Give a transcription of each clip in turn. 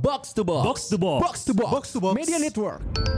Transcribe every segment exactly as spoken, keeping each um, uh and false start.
Box to Box. Box to Box. Box to Box. Box to Box. Media Network.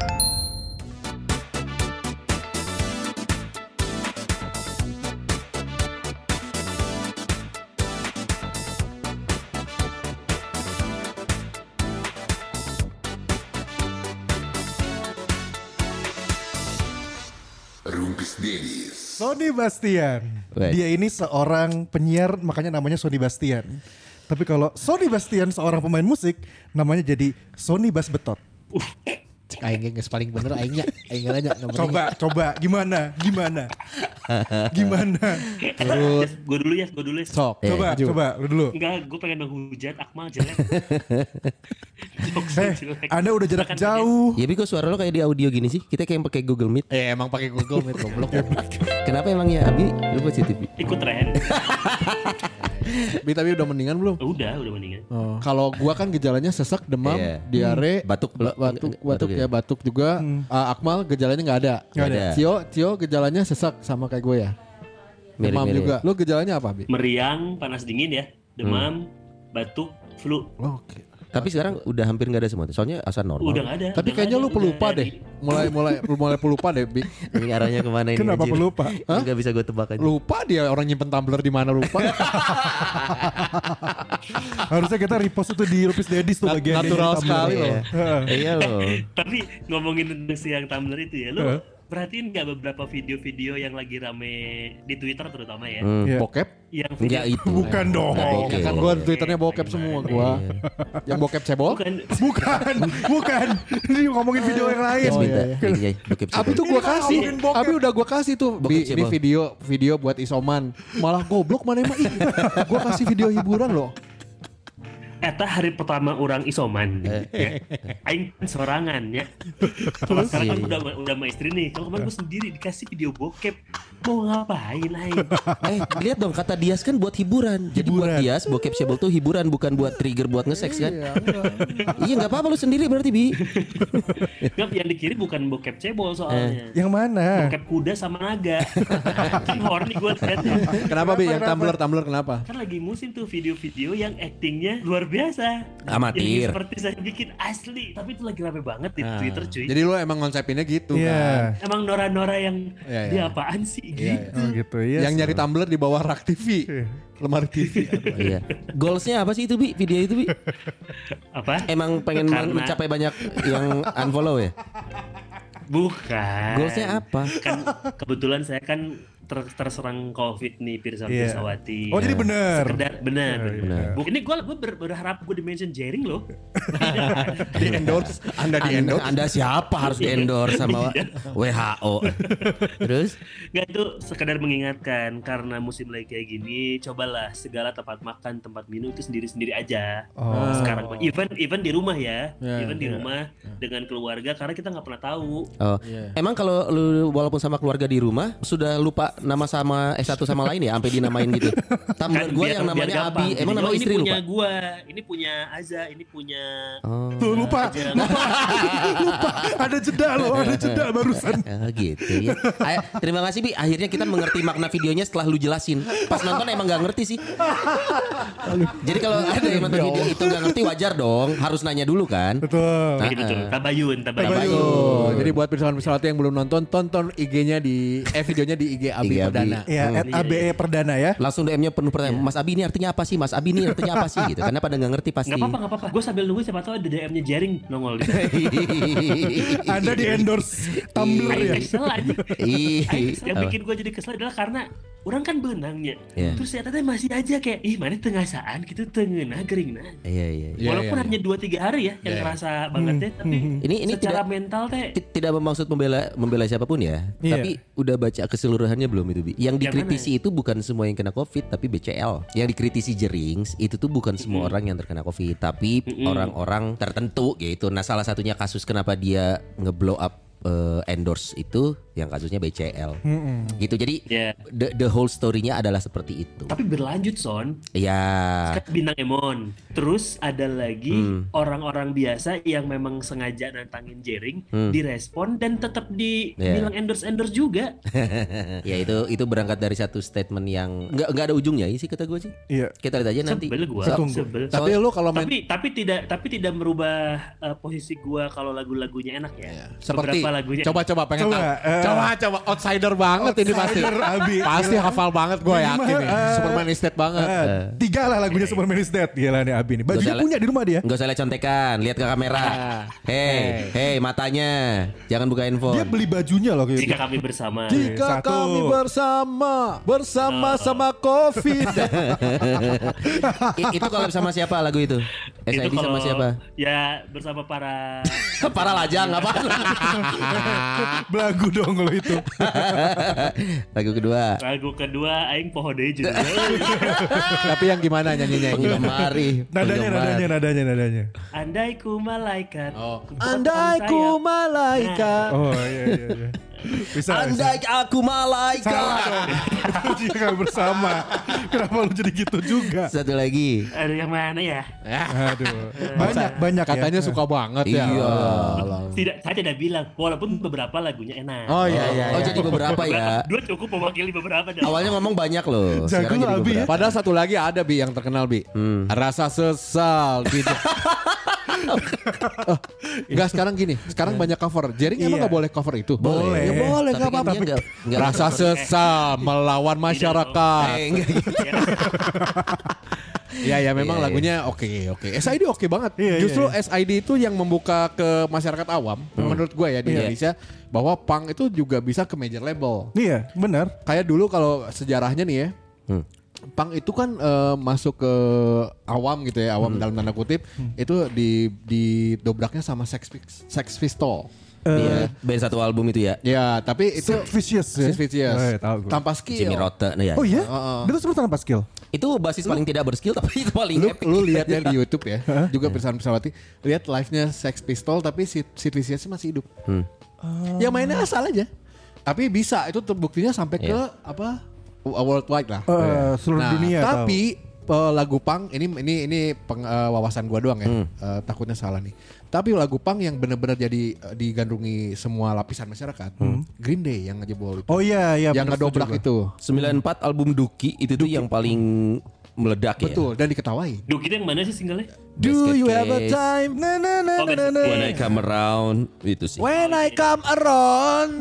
Rumpis Dennis. Sony Bastian. Right. Dia ini seorang penyiar, makanya namanya Sony Bastian. Tapi kalau Sony Bastian seorang pemain musik, namanya jadi Sony Bas Betot. Cek aing geus paling bener aingnya. Aing nanya nomornya. Coba, coba gimana? Gimana? Gimana? Terus Gue dulu ya, gue dulu ya. sok. Coba, maju. coba lu dulu. Enggak, gue pengen menghujat Akmal jelek. Jokes Eh, jelek. Anda udah jarak Makan jauh. Ya, Bi, kok suara lo kayak di audio gini sih? Kita kayak pakai Google Meet. Eh emang pakai Google Meet goblok. Kenapa emangnya Abi? Lu positif, Bi? Ikut tren. Bi tapi udah mendingan belum? Udah, udah mendingan. Oh. Kalau gua kan gejalanya sesek, demam, Iya. diare, Batuk. ba- batuk, Batuk batuk ya? ya, batuk juga. Uh, Akmal gejalanya nggak ada. Nggak ada. Tio, Tio gejalanya sesek sama kayak gue ya. Demam Mirip-mirip. juga. Lu gejalanya apa, Bi? Meriang, panas dingin ya. Demam, batuk, flu. Oke. Tapi sekarang udah hampir nggak ada semua. Soalnya asal normal. Udah gak ada. Tapi udah kayaknya nggak lu ada, pelupa udah deh. di- Mulai mulai mulai pelupa deh, Bi. Ini arahnya kemana ini? Kenapa anjir? pelupa? Nggak bisa gue tebak aja. Lupa dia orang nyimpen tumbler di mana lupa. Harusnya kita repost itu di Rupis Dedis tuh Nat- bagian natural yang sekali Tumblr. loh. Heeh. Iya loh. Tapi ngomongin tentang si yang Tumblr itu ya, lu Heeh. perhatiin gak beberapa video-video yang lagi rame di Twitter terutama ya? Hmm. Iya. Bokep? Yang Enggak itu. Bukan dong. Nggak bokep. Ya kan gua Twitternya bokep semua gua. Yang bokep cebol? Bukan. Bukan, bukan. Ini ngomongin video yang lain. Yes, minta. iya, Ini, ya, bokep Abi cebol. tuh gua Ini kasih, ngomongin bokep. Abi udah gua kasih tuh. Bokep Bi, ini cebol. video video buat isoman. Malah goblok mana emang ih. Gua kasih video hiburan loh. Eta hari pertama orang isoman Eh. ya. Aing kan sorangan ya. Kalau sekarang kan Iya. udah udah sama istri nih. Kalau kemarin gue sendiri dikasih video bokep. Mau ngapain Aing? Eh, lihat dong kata Dias kan buat hiburan. Jadi buat Hiburan. Dias bokep cebol tuh hiburan, bukan buat trigger buat nge-sex kan? Iya, enggak. Iya nggak apa-apa lu sendiri berarti, Bi. Nggak, yang dikirim bukan bokep cebol soalnya. Yang mana? Bokep kuda sama naga. Kan horny gue liatnya. Kenapa Bi? Yang Kenapa? Tumblr Tumblr kenapa? Kan lagi musim tuh video-video yang actingnya luar biasa. Amatir. Yang seperti saya bikin asli. Tapi itu lagi rame banget di Nah, Twitter cuy. Jadi lu emang konsepinnya gitu kan. Iya. Emang Nora-Nora yang Iya, dia iya. apaan sih Iya, gitu. Oh gitu ya. Yang nyari Tumblr di bawah rak T V. Iya. Lemari T V. Iya. Goalsnya apa sih itu, Bi? Video itu, Bi? Apa? Emang pengen Karena- mencapai banyak yang unfollow ya? Bukan. Goalsnya apa? Kan kebetulan saya kan ter- terserang COVID nih Pirsa Iya. Pirsawati. Oh jadi bener. Sekedar benar. Iya, benar. Bu- Ini gue gue ber- berharap gue di mention jaring loh. Di endorse, Anda di Anda, endorse. anda siapa harus di endorse sama W H O? Terus? Gak itu sekedar mengingatkan karena musim lagi kayak gini, cobalah segala tempat makan, tempat minum itu sendiri-sendiri aja. Oh. Sekarang even even di rumah ya, Ya, even di ya, rumah dengan keluarga karena kita nggak pernah tahu. Oh, Iya. emang kalau lu walaupun sama keluarga di rumah sudah lupa nama sama eh satu sama lain ya, sampai dinamain gitu. Tumblr gue biar- yang biar namanya gampang. Abi, emang Jadi, nama oh, istri ini lupa. punya gua, ini punya Aza, ini punya Oh, Tuh lupa, Aja. lupa, lupa. Ada jeda loh, ada jeda barusan. ya gitu ya. Ay, terima kasih, Bi. Akhirnya kita mengerti makna videonya setelah lu jelasin. Pas nonton emang gak ngerti sih. Jadi kalau ada yang nonton video itu gak ngerti wajar dong. Harus nanya dulu kan. Betul. Betul, betul. Tabayun, tabayun. Tabayun. Oh, jadi buat pirsawan-pirsawati yang belum nonton, tonton I G-nya di eh videonya di I G Abi I G Abi. Perdana. Ya, at A B E Perdana ya. Langsung D M-nya penuh pertanyaan. Mas Abi ini artinya apa sih? Mas Abi ini artinya apa sih? Gitu. Karena pada gak ngerti pasti. Gak apa-apa, gak apa-apa. Gue sambil nunggu siapa tahu ada D M-nya jaring nongol di Anda di endorse Tumblr Aing ya. kesel aja. Ih, Aing- Yang apa? bikin gue jadi kesel adalah karena orang kan benangnya. Iya. Terus saya tadi masih aja kayak, ih mana tengasaan gitu tengenah gering nah. Iya, iya. Iya, Walaupun iya, hanya dua tiga hari ya yang Iya. ngerasa banget ya, tapi Ini ini secara tidak mental teh T- tidak bermaksud membela membela siapapun ya, Iya. tapi udah baca keseluruhannya belum itu, Bi? Yang Yang dikritisi itu bukan semua yang kena Covid, tapi B C L. Yang dikritisi Jerings itu tuh bukan semua orang yang terkena Covid, tapi orang-orang tertentu gitu. Nah, salah satunya kasus kenapa dia ngeblow up uh, endorse itu yang kasusnya B C L. Mm-mm. Gitu. Jadi Yeah. the, the whole story-nya adalah seperti itu. Tapi berlanjut Son. Ya. Kan bintang Emon. Terus ada lagi Hmm. orang-orang biasa yang memang sengaja nantangin Jering, Hmm. direspon dan tetap Yeah. dibilang endorse-endorse juga. Ya itu itu berangkat dari satu statement yang nggak nggak ada ujungnya sih kata gue sih. Iya. Kita lihat aja nanti. Sebel gua, Saya tunggu. sebel. Tapi lu kalau main Tapi tapi tidak tapi tidak merubah uh, posisi gua kalau lagu-lagunya enak ya. Iya. Seperti Beberapa lagunya. coba-coba pengen Coba, tahu. eh. coba coba outsider banget ini pasti. Outsider, Abi. Pasti Gila. hafal banget gue Minimal, yakin nih. eh, Superman is dead banget. Eh, tiga lah lagunya Superman is Dead. Gila nih Abi nih. Bajunya Gak punya di rumah dia. Nggak usah lihat contekan, lihat ke kamera. Hei, hei matanya, jangan buka handphone. Dia beli bajunya loh kayak Jika gitu. kami bersama. Jika Satu. kami bersama bersama sama Covid. I- itu collab sama siapa lagu itu? S I D sama siapa? Ya bersama para Para lajang apa? Belagu dong kalau itu. Lagu kedua. lagu kedua Aing poho deui juga. Tapi yang gimana nyanyinya? Penggemari. Nadanya, nadanya, nadanya, nadanya. Andai ku malaikat. Oh. ku Andai potong ku sayap. malaikat. Oh iya iya iya. Bisa. Andai aku malaikat. Salah dong. Jika bersama. Kenapa lu jadi gitu juga? Satu lagi. Aduh yang mana ya? Aduh. Banyak banyak Katanya ya. suka banget ya. Iya. Tidak, saya tidak bilang. Walaupun beberapa lagunya enak. Oh iya iya. Oh iya. jadi beberapa ya. Dua cukup mewakili beberapa. dong. Awalnya ngomong banyak loh. Jago Sekarang jadi lah, Abi, ya. beberapa. Padahal satu lagi ada Bi yang terkenal Bi. Hmm. Rasa sesal gitu. oh, enggak sekarang gini. Sekarang banyak cover. Jering emang Iya. enggak boleh cover itu? Boleh. Ya boleh Tapi enggak kan apa-apa. dia nggak- nggak- Rasa sesal melawan masyarakat. Eh, enggak gitu. Iya ya memang Iya, lagunya oke oke. S I D oke banget. Iya, iya, Justru iya. S I D itu yang membuka ke masyarakat awam menurut gue ya di Iya. Indonesia bahwa punk itu juga bisa ke major label. Iya benar. Kayak dulu kalau sejarahnya nih ya. Hmm. Punk itu kan eh, masuk ke awam gitu ya, awam dalam tanda kutip itu di didobraknya sama Sex Pis- Sex Pistol. Iya, band satu album itu ya. Ya, tapi itu Sid Vicious ya? Sid Vicious. Oh, iya, tahu gue. Tanpa skill. Jimmy Rotte nah ya. Oh iya? Heeh. Dia tuh sebenarnya tanpa skill. Itu basis paling tidak berskill tapi itu paling Lu, epic. lu lihat ya di YouTube ya, juga Pirsawan Pirsawati, lihat live-nya Sex Pistol tapi Sid Sid Vicious masih hidup. Hmm. Ya mainnya asal aja. Tapi bisa itu terbuktinya sampai ke Iya. apa? Worldwide lah. Eh, seluruh Nah, dunia tapi eh, lagu punk ini ini ini peng- eh, wawasan gua doang ya. Hmm. Eh, takutnya salah nih. Tapi lagu punk yang benar-benar jadi eh, digandrungi semua lapisan masyarakat. Green Day yang ngejebol itu. Oh iya iya. yang bener, ngedobrak setuju itu. sembilan puluh empat album Duki itu tuh yang paling meledak ya. Betul dan diketawain. Duh kita yang mana sih singlenya? Do Basket you have a Case. time? Na na na Oh, na na na. When I come around itu sih. When I come around.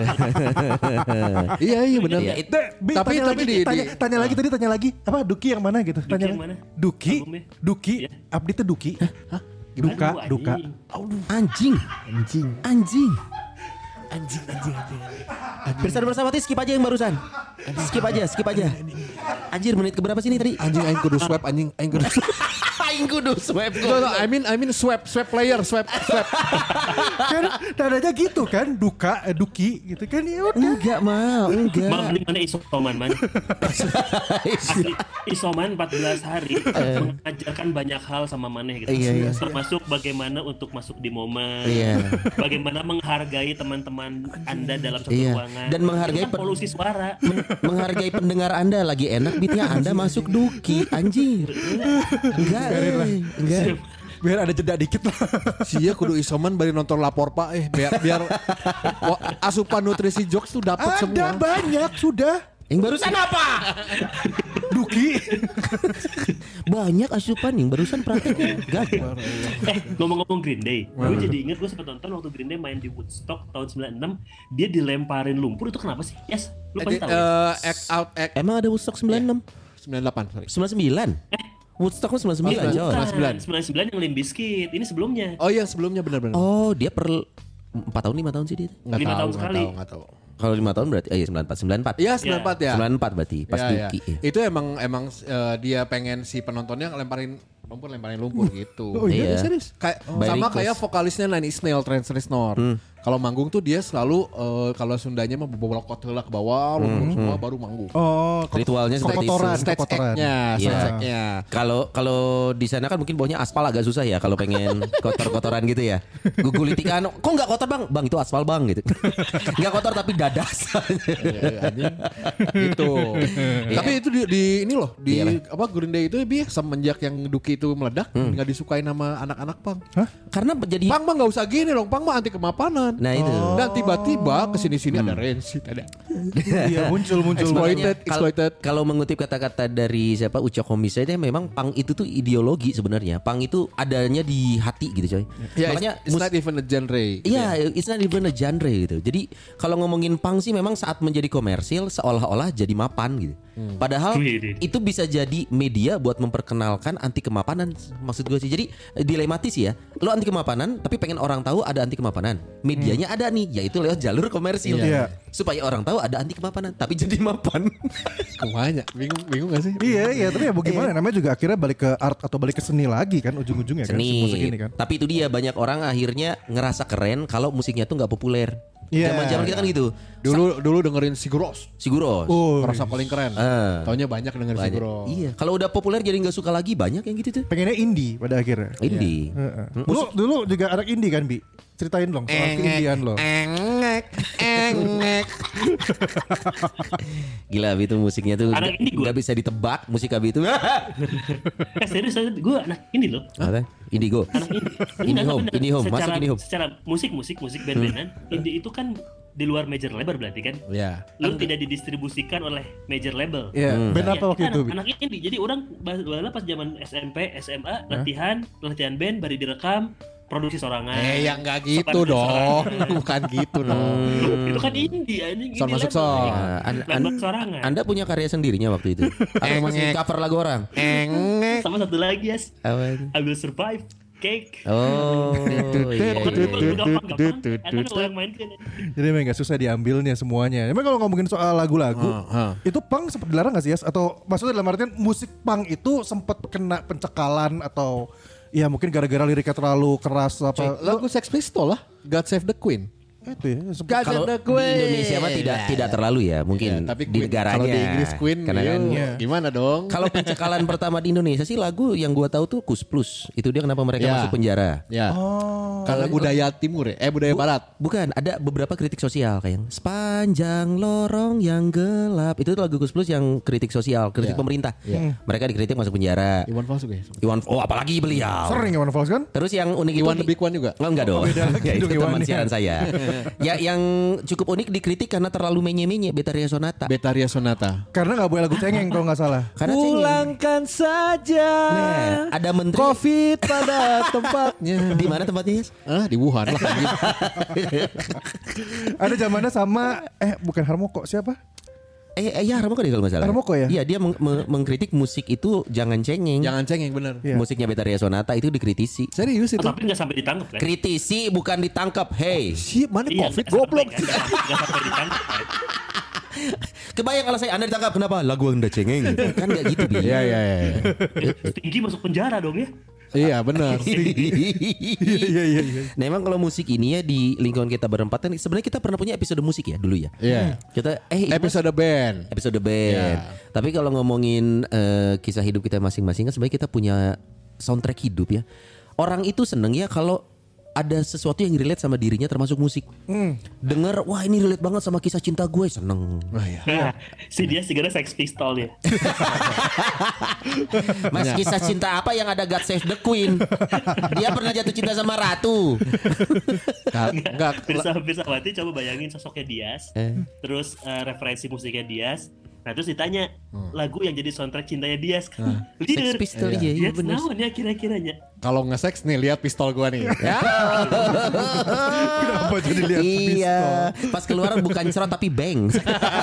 Iya iya benar. Iya, itu Dek, Bi, Tapi- tanya tapi lagi, di- tanya, di- tanya lagi tadi tanya lagi apa Duki yang mana gitu? Duki Tanya yang lagi. mana? Duki, Albumnya? Duki, Iya. update Duki. Duka, Aduh, duka. anjing. anjing. Anjing. Anjing. Anjing, anjing, anjing. Bersama bersama skip aja yang barusan. Skip aja, skip aja. Anjir menit keberapa sih ini tadi? Anjing aing kudu swab anjing aing kudu. Aing kudu swipe No, no, I mean I mean swab swab player swab swab. Kan nadanya gitu kan, duka, eh, Duki gitu kan ya udah. Enggak mau, enggak. Mam, ini mana isoman man? Asli, isoman empat belas hari mengajarkan banyak hal sama maneh gitu. Iya, iya. Termasuk bagaimana untuk masuk di momen. Iya. Bagaimana menghargai teman-teman Anda dalam satu Iya. ruangan. Dan menghargai Itu kan pen- polusi suara. Men- menghargai pendengar Anda lagi enak beatnya Anda masuk Duki anjir. Enggak, eh, enggak. Biar ada jeda dikit lah. Sia kudu isoman bari nonton lapor Pak eh biar biar wa- asupan nutrisi jokes tuh dapat Ada semua. banyak sudah. Yang barusan apa? Duki. Banyak asupan yang barusan praktek gagal. Eh ngomong-ngomong Green Day, gue jadi inget gue sempat nonton waktu Green Day main di Woodstock tahun sembilan puluh enam, dia dilemparin lumpur itu kenapa sih? Yes, lu pasti Eh, tahu. eh, ya? act out act Emang ada Woodstock sembilan puluh enam? sembilan puluh delapan sorry. sembilan puluh sembilan? Woodstock kan sembilan puluh sembilan, Oh, John. sembilan puluh sembilan. sembilan puluh sembilan yang Limp Bizkit, ini sebelumnya. Oh iya sebelumnya benar-benar. Oh, dia per empat tahun lima tahun sih dia. Nggak lima tahu, tahun nggak sekali. tahu, nggak tahu. Kalau lima tahun berarti oh iya sembilan puluh empat, sembilan puluh empat. Iya sembilan puluh empat ya. sembilan puluh empat berarti pas Ya, ya. Duki. Ya. Itu emang emang eh, dia pengen si penontonnya ngelemparin lumpur lemparin lumpur gitu. Oh iya, Iya. serius. Kayak By sama request. kayak vokalisnya Nine Inch Nails Trent Reznor. Kalau manggung tuh dia selalu uh, kalau Sundanya mah bawa heula ke bawah, hmm, semua baru manggung. Oh, Ritualnya seperti itu. kotoran, Stage kotoran. act-nya, Iya. stage act-nya. Kalau kalau di sana kan mungkin bawahnya aspal agak susah ya kalau pengen kotor-kotoran gitu ya. Gugulitikan, kok nggak kotor bang? Bang itu aspal bang gitu. Nggak kotor tapi dadas. Iya, anjing. Gitu. Tapi itu di, di ini loh di Iya, apa Green Day itu dia semenjak yang Duki itu meledak nggak disukai nama anak-anak pang. Karena jadi Pang mah nggak usah gini dong, Pang mah anti kemapanan. nah itu. Dan tiba-tiba kesini-sini ada Rancid ada. Iya muncul muncul. Exploited, Makanya kal- exploited. Kalau mengutip kata-kata dari siapa Ucok Homies aja memang pang itu tuh ideologi sebenarnya. Pang itu adanya di hati gitu coy. Ya, Makanya it's, it's not even a genre. Iya, it's not even a genre gitu. Jadi kalau ngomongin pang sih memang saat menjadi komersil seolah-olah jadi mapan gitu. Hmm. Padahal Wih, itu bisa jadi media buat memperkenalkan anti kemapanan maksud gue sih. Jadi eh, dilematis ya. Lo anti kemapanan tapi pengen orang tahu ada anti kemapanan. Medianya ada nih yaitu lewat jalur komersil. Iya. Supaya orang tahu ada anti kemapanan tapi jadi mapan. Kemana? Bingung, bingung gak sih? Iya iya tapi ya bagaimana namanya juga akhirnya balik ke art atau balik ke seni lagi kan ujung-ujungnya kan si musik Seni. ini kan. Tapi itu dia banyak orang akhirnya ngerasa keren kalau musiknya tuh nggak populer. Iya. Zaman-zaman kita kan gitu. Dulu dulu dengerin Siguros. Siguros. Oh, Merasa paling keren. Ah. Taunya banyak dengerin Banyak. Siguros. Iya, kalau udah populer jadi nggak suka lagi banyak yang gitu tuh. pengennya indie pada akhirnya. Indie. Heeh. Dulu dulu juga anak indie kan Bi. Ceritain dong soal keindian lo. Engek, engek. Gila Abi itu musiknya tuh Anak nggak indie gua. nggak bisa ditebak musik Abi itu. Eh serius, gue anak ini loh. Apa? Indigo. Anak indie. Indie Enggak, home, bener. indie home, Secara, masuk indie home. Secara musik, musik, musik band-bandan, indie itu kan di luar major label berarti kan? Iya. Lu tidak didistribusikan oleh major label. Iya, band Ya, apa waktu kita itu anak, Bi? anak indie. Jadi orang bala pas zaman S M P, S M A, latihan, latihan band, baru direkam, produksi sorangan. Eh ya nggak gitu Sopan dong. sorangan. Bukan gitu dong. Itu kan indie anjing. Son indie masuk label. son. Nah, an- Label an- sorangan. Anda punya karya sendirinya waktu itu. Atau masih Engek. cover lagu orang? Engek. Sama satu lagi yes, Apa itu? I Will Survive, Cake. Oh, iya, Pokoknya iya, itu iya. gampang-gampang. Enak kalau yang main kan. Jadi memang gak susah diambilnya semuanya. Emang kalau ngomongin soal lagu-lagu, Ah, ah. itu punk sempat dilarang gak sih Yas? Atau maksudnya dalam artian musik punk itu sempat kena pencekalan atau ya mungkin gara-gara liriknya terlalu keras apa? Lagu Sex Pistol lah. God Save the Queen. Itu ya. Sempet, Kalau di Indonesia mah tidak tidak terlalu ya, mungkin Ya, tapi di Queen- negaranya. kalau di Inggris Queen Karena kan yuk, Iya. gimana dong? kalau pencekalan pertama di Indonesia sih lagu yang gua tahu tuh Kus Plus. Itu dia kenapa mereka Ya. masuk penjara. Ya. Oh. Kalau budaya timur ya, eh budaya barat. Bukan, ada beberapa kritik sosial kayak yang sepanjang lorong yang gelap. Itu tuh lagu Kus Plus yang kritik sosial, kritik Ya. pemerintah. Ya. Mereka dikritik masuk penjara. Iwan Fals juga ya. Iwan, oh apalagi beliau. Sering Iwan Fals kan? Terus yang unik Iwan itu the Big One juga. Oh, enggak dong. beda lagi Ya, itu dong teman Iwannya. siaran saya. Ya yang cukup unik dikritik karena terlalu menye-menye Betaria Sonata. Betaria Sonata. Karena gak boleh lagu cengeng kalau gak salah. Karena cengeng. Pulangkan saja. Nah, ada menteri Covid pada tempatnya. di mana tempatnya? Yes? Ah, di Wuhan lah. Ada zamannya sama eh bukan Harmoko siapa? Eh, eh ya Harmoko deh kalau nggak salah. Harmoko ya? Iya dia meng- meng- mengkritik musik itu jangan cengeng. Jangan cengeng bener. Iya. Musiknya Betaria Sonata itu dikritisi. Serius itu. Tapi nggak sampai ditangkap kan? Kritisi bukan ditangkap. Hey, Si mana Iya, Covid nggak sampai goblok. kan? Nggak nggak sampai ditangkap kan? kebayang kalau saya Anda ditangkap kenapa? Lagu Anda cengeng. Kan nggak gitu bi. Iya iya iya. Tinggi masuk penjara dong ya. Iya benar. Iya iya iya. Nah emang kalau musik ini ya di lingkungan kita berempat kan sebenarnya kita pernah punya episode musik ya dulu ya. Iya. Kita eh Imas- Episode band. episode band. Ya. Tapi kalau ngomongin eh, kisah hidup kita masing-masing kan sebenarnya kita punya soundtrack hidup ya. Orang itu seneng ya kalau ada sesuatu yang relate sama dirinya termasuk musik. Dengar wah ini relate banget sama kisah cinta gue seneng. Oh iya. Nah, si dia segera Sex Pistol ya. Mas kisah cinta apa yang ada God Save the Queen? Dia pernah jatuh cinta sama ratu. Enggak enggak Pirsa Pirsawati coba bayangin sosoknya Dias, Eh. terus eh, referensi musiknya Dias. Nah terus ditanya lagu yang jadi soundtrack cintanya Dias kan. Sex Pistol iya, iya Dias benar. naon ya kira-kiranya. kalau nge-sex nih lihat pistol gua nih. Ya. Kenapa jadi lihat Iya, pas keluar bukan cerot tapi bang.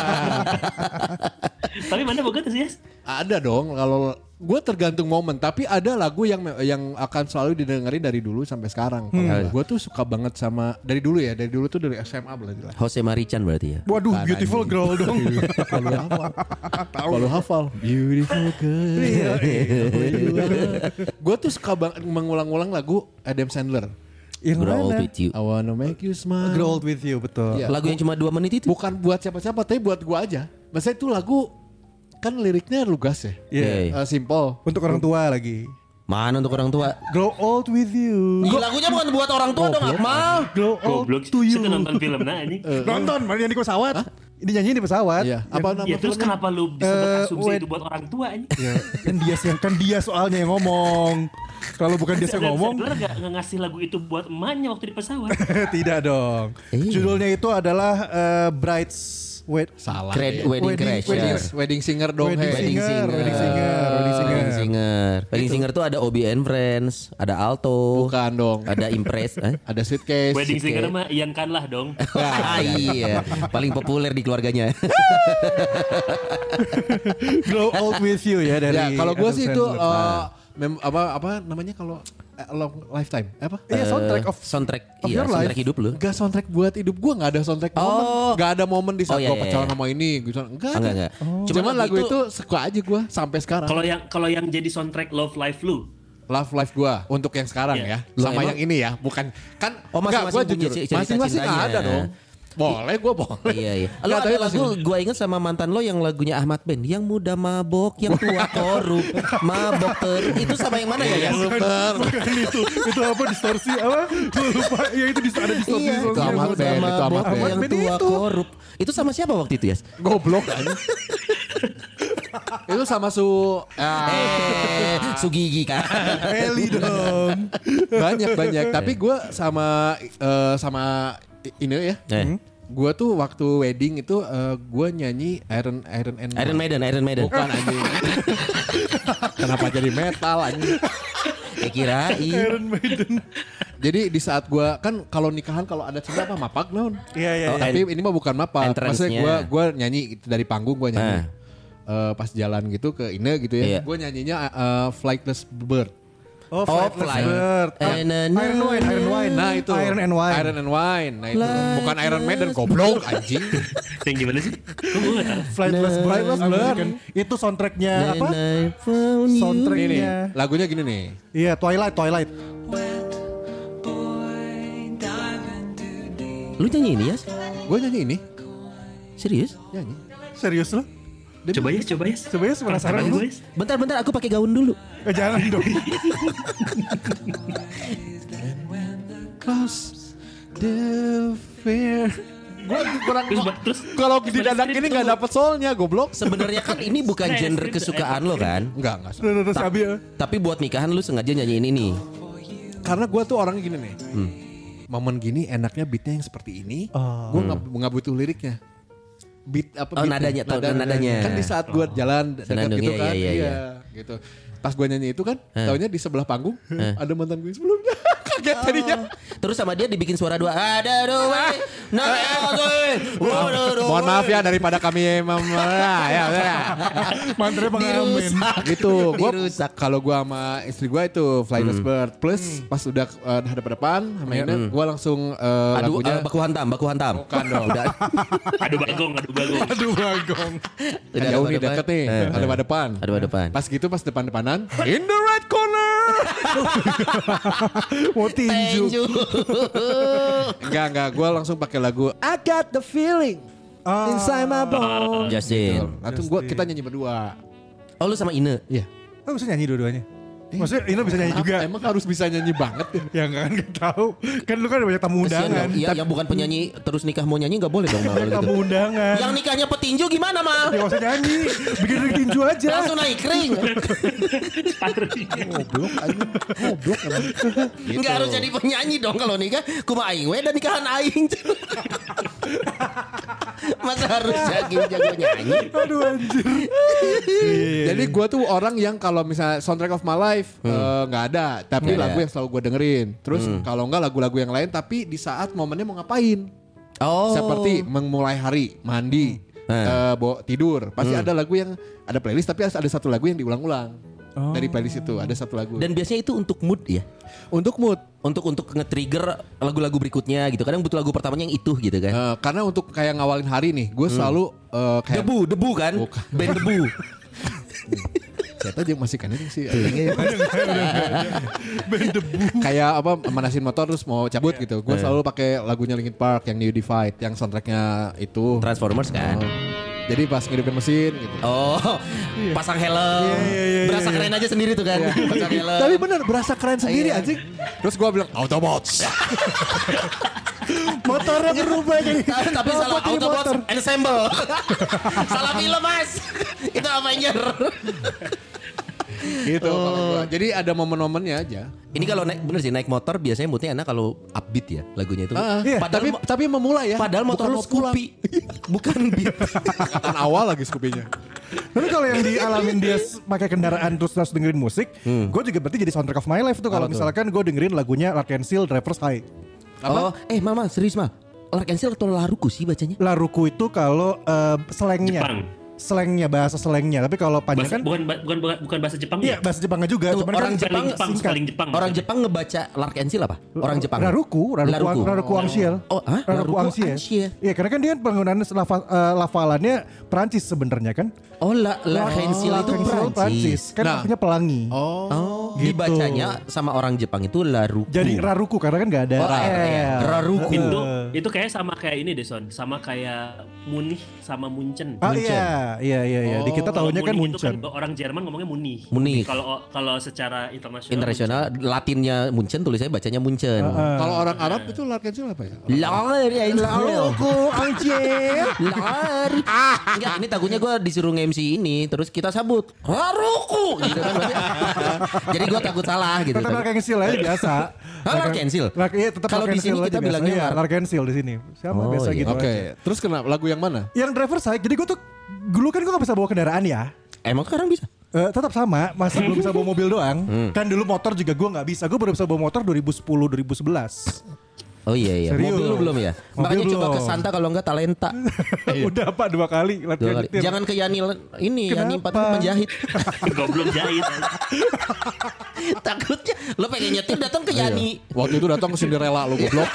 Tapi mana boga tuh sih Dias? Ada dong kalau gue tergantung momen, tapi ada lagu yang yang akan selalu didengerin dari dulu sampai sekarang. Gue tuh suka banget sama dari dulu ya, dari dulu tuh dari S M A berarti lah. Jose Marichan berarti ya. Waduh, Bukan, beautiful anjing. girl dong. Kalau hafal, kalau hafal, beautiful girl. Gue tuh suka banget mengulang-ulang lagu Adam Sandler. Yang Grow Old mana? With You. I wanna make you smile. Grow Old With You, betul. Iya. Lagu yang cuma dua menit itu. Bukan buat siapa-siapa, tapi buat gua aja. Maksudnya itu lagu kan liriknya lugas ya. Iya. Oke. Eh, simple. Untuk orang tua lagi. Mana untuk orang tua? Grow Old With You. Ih, lagunya bukan buat orang tua dong, Akmal. Grow Old Goblok. To You. Kita nonton film nah ini. Nonton, mana yang di pesawat? Ini nyanyi di pesawat. Iya. Apa nama Ya terus filmnya? kenapa lu bisa Eh, berasumsi wait. itu buat orang tua ini? Ya, kan dia yang kan dia soalnya yang ngomong. Kalau bukan dia yang ngomong, Sadar gak ngasih lagu itu buat emaknya waktu di pesawat? tidak dong. Iya. Judulnya itu adalah eh, Brides Wait. Salah. Cred- ya. Wedding, Wedding- Crasher. Wedding, wedding singer dong. Wedding hey. Wedding Singer, Singer. Wedding Singer, Wedding Singer. Wedding Singer. Wedding Singer tuh ada Obi and Friends, ada Alto, Bukan dong. ada Impress. Eh? Ada Suitcase. Wedding Oke. singer mah Ian Kanlah dong. iya, paling populer di keluarganya. Grow Old With You ya dari Ya, kalau gue Adam sih itu Sandler. eh, mem- apa apa namanya kalau eh, long lifetime apa? Iya, soundtrack of soundtrack, of iya, your soundtrack life. hidup lu. Enggak soundtrack buat hidup gue, nggak ada soundtrack Oh. momen, nggak ada momen di saat Oh, iya, gue iya, pacaran iya. sama ini gitu. Enggak, Enggak, ada. enggak. Cuman, Cuman lagu lagu itu, suka aja gue sampai sekarang. Kalau yang kalau yang jadi soundtrack Love Life lu, Love Life gue untuk yang sekarang Iya. ya, Loh, sama emang? yang ini ya, bukan kan? Oh, enggak, masing-masing gue punya jujur, cerita masing-masing cintanya. ada dong. Boleh, gue boleh. Iya iya. Lo Nggak, ada tapi lagu masing-masing. gue inget sama mantan lo yang lagunya Ahmad Ben, yang muda mabok, yang tua korup, mabok terus. Itu sama yang mana ya? Yas? Bukan itu, itu apa distorsi apa? Gue lupa. Ya itu dis- ada distorsi. Iya, distorsi. Itu Ahmad yang Ben, muda itu Ahmad mabok, Ben. yang Ben tua itu. korup. Itu sama siapa waktu itu ya? Goblok aja. Itu sama su ah, Eh, Sugigi kan. Eli dong. banyak banyak. Tapi gue sama eh, sama ini ya. Eh. Gue tuh waktu wedding itu uh, gue nyanyi Iron Iron and Iron Maiden, Iron Maiden. Bukan anjing. Kenapa jadi metal anjing? Ya kirain. Iron Maiden. Jadi di saat gue kan kalau nikahan kalau ada cerita apa mapak naon. Iya iya. Oh, iya. Tapi ini mah bukan mapak. entrance-nya. Maksudnya gue gue nyanyi gitu, dari panggung gue nyanyi. Ah. Eh, pas jalan gitu ke Ine gitu Iya. ya. Gue nyanyinya uh, Flightless Bird. Oh, Oh, Flightless Flight. Bird. Ah, Eh, na, na, Iron Wine, Iron Wine. Nah itu Iron and Wine. Iron and Wine. Nah itu Flightless bukan Iron Maiden goblok anjing. yang gimana sih? Kok gue gak tahu? Flightless Nah, Bird. Flightless Bird. American. Itu soundtracknya na, apa? na, found you. Soundtrack. Ini nih, Iya. lagunya gini nih. Iya, Twilight, Twilight. Lu nyanyi ini ya? Gue nyanyi ini, Serius? nyanyi. Serius lo? Coba ya, coba ya. Coba ya, penasaran Tangan lu. gue, Yas. Bentar-bentar aku pakai gaun dulu. Eh, jangan dong. Close the fear. Gue kurang Terus, ba- terus kalau di Baca dadak skrip ini tuh. nggak dapet soalnya goblok. Sebenarnya kan ini bukan Nah, genre skrip- kesukaan lo kan? Enggak, enggak. Udah, udah, udah, Sabi ya. Tapi buat nikahan lu sengaja nyanyiin ini. Karena gue tuh orangnya gini nih. Hmm. Momen gini enaknya beatnya yang seperti ini. Oh. Gue nggak nggak butuh liriknya. Beat apa? Oh, beatnya? nadanya, tau, nadanya. Kan di saat gue jalan dekat Senandungnya, gitu kan, iya, iya, iya. gitu. Pas gue nyanyi itu kan, taunya di sebelah panggung ada mantan gue sebelumnya. Kaget tadinya. Terus sama dia dibikin suara dua. Ada dua. Nah, Mohon maaf ya daripada kami mem ya, ya, ya. Mantra pengamen. Dirusak. Gitu. Gua Dirusak. kalau gua sama istri gua itu Flightless Bird plus pas udah uh, hadap-hadapan sama ini gua langsung uh, Aduh, lagunya uh, baku hantam, baku hantam. bukan dong. Udah. Aduh bagong, aduh bagong. Aduh, bagong. Udah Jauh ada nih depan. deket nih, Eh, ada pada depan. Ada pada depan. Pas gitu pas depan-depanan, in the right corner. Mau tinju. Tinju. enggak enggak, gua langsung pakai lagu I got the feeling Ah. inside my bones. Justin. Atau gua kita nyanyi berdua. Oh lu sama Ine. Iya. Oh, bisa nyanyi dua-duanya? Maksudnya Ina bisa nyanyi juga? Emang harus bisa nyanyi banget ya? Ya kan, gak tahu. Kan lu kan ada banyak tamu Kesian undangan. dong. Iya, yang bukan penyanyi terus nikah mau nyanyi nggak boleh dong Mal, Banyak gitu. tamu undangan. Yang nikahnya petinju gimana Mal? Ya gak usah nyanyi. Bikin dari tinju aja. Langsung naik ring. Goblok aja. Goblok emang. Nggak harus jadi penyanyi dong kalau nikah. Kuma aing we dan nikahan aing. Masa harus jago-jago nyanyi? Aduh anjir. Jadi gue tuh orang yang kalau misalnya soundtrack of my life eh, nggak ada, tapi Nggak lagu ada. yang selalu gue dengerin. Terus kalau nggak lagu-lagu yang lain, tapi di saat momennya mau ngapain, Oh. seperti memulai hari, mandi, eh, bawa tidur, pasti ada lagu yang ada playlist, tapi ada satu lagu yang diulang-ulang dari playlist itu ada satu lagu. Dan biasanya itu untuk mood ya. Untuk mood, Untuk untuk nge-trigger lagu-lagu berikutnya gitu. Kadang butuh lagu pertamanya yang itu gitu kan. eh, karena untuk kayak ngawalin hari nih, gue selalu eh, kayak Debu, debu kan? Bukan. Band debu. Saya tahu juga masih kan ini sih. Kayak apa manasin motor terus mau cabut gitu. Gue selalu pakai lagunya Linkin Park yang New Divide yang soundtracknya itu Transformers kan. Oh. Jadi pas ngidupin mesin gitu. Oh, pasang helm. Berasa keren aja sendiri tuh kan. Pasang helm. Tapi bener berasa keren sendiri Iya. anjing. Terus gue bilang Autobots. Motornya berubah jadi. Tapi salah robot jadi Autobots motor. Ensemble. Salah film mas. Itu Avenger. Gitu kalau gua. Jadi ada momen-momennya aja. Ini kalau naik bener sih naik motor biasanya moodnya enak kalau upbeat ya lagunya itu. Ah, Iya, Padahal tapi mo- tapi memulai ya. Padahal motor Bukan lu mau pulang. Scoopy. Bukan beat. Angkatan awal lagi Scoopy-nya. Tapi kalau yang dialamin dia s- pakai kendaraan terus terus dengerin musik, gue juga berarti jadi soundtrack of my life tuh kalau Apa tuh? misalkan gue dengerin lagunya Lark and Seal Driver's High. Oh, eh mama serius mal. Lark and Seal atau Laruku sih bacanya? Laruku itu kalau eh, slangnya, Jepang. slangnya bahasa slangnya. Tapi kalau panjang Bahasa, kan, bukan, bukan bukan bukan bahasa Jepang iya ya? bahasa Jepangnya juga. Tuh, Cuman orang kan Jepang Jepang, singkat. spelling Jepang. Orang Jepang ngebaca Lark and Seal apa? Orang Jepang. Raruku, Raruku, Laruku. Raruku Angsiel. Oh, hah? Raruku Laruku Angsiel. Angsiel. Iya, karena kan dia penggunaan lafal, eh, lafalannya Perancis sebenarnya kan. Oh, La Lark and Seal itu Lark and Seal Prancis. Kan Nah. artinya pelangi. Oh. Oh, Gitu. dibacanya sama orang Jepang itu Laruku. Jadi Raruku karena kan gak ada Oh, iya. L. Raruku. Itu itu kayak sama kayak ini deh Son, sama kayak Munich sama Munchen. Ah iya, iya iya iya. Di kita Kalau tahunya kan Munich itu Munchen. kan orang Jerman ngomongnya Munich. Munich. Kalau kalau secara internasional. Internasional Latinnya Munchen tulisannya bacanya Munchen. Kalau orang Arab itu Lark and Seal apa ya? Lark and Seal. Laruku Angsiel. Lark. Ah, enggak ini takutnya gue disuruh nge-M C ini terus kita sabut Laruku gitu kan berarti. Jadi gue takut salah gitu. Tetap Lark and Seal aja biasa. Ah, Lark and Seal? Lark, iya tetap Kalau Lark di and sini Seal kita aja bilangnya biasa. Iya, Lark- Lark and Seal di sini. Sama Oh, biasa iya. gitu Oke, aja. terus kenapa lagu yang mana? Yang driver side, jadi gue tuh dulu kan gue gak bisa bawa kendaraan ya. Emang sekarang bisa? Eh, tetap sama, masih belum bisa bawa mobil doang. Kan dulu motor juga gue nggak bisa. Gue baru bisa bawa motor dua ribu sepuluh dua ribu sebelas. Oh iya iya. Serius? Mobil lu belum ya? Mobil Makanya coba belum. ke Santa kalau enggak Talenta. Udah Pak dua kali Dua latihan kali. nyetir. Jangan ke Yani ini Yani empat Kenapa? penjahit. Goblok jahit. Takutnya lo pengen nyetir datang ke Yani. Waktu itu datang ke Cinderella lu goblok.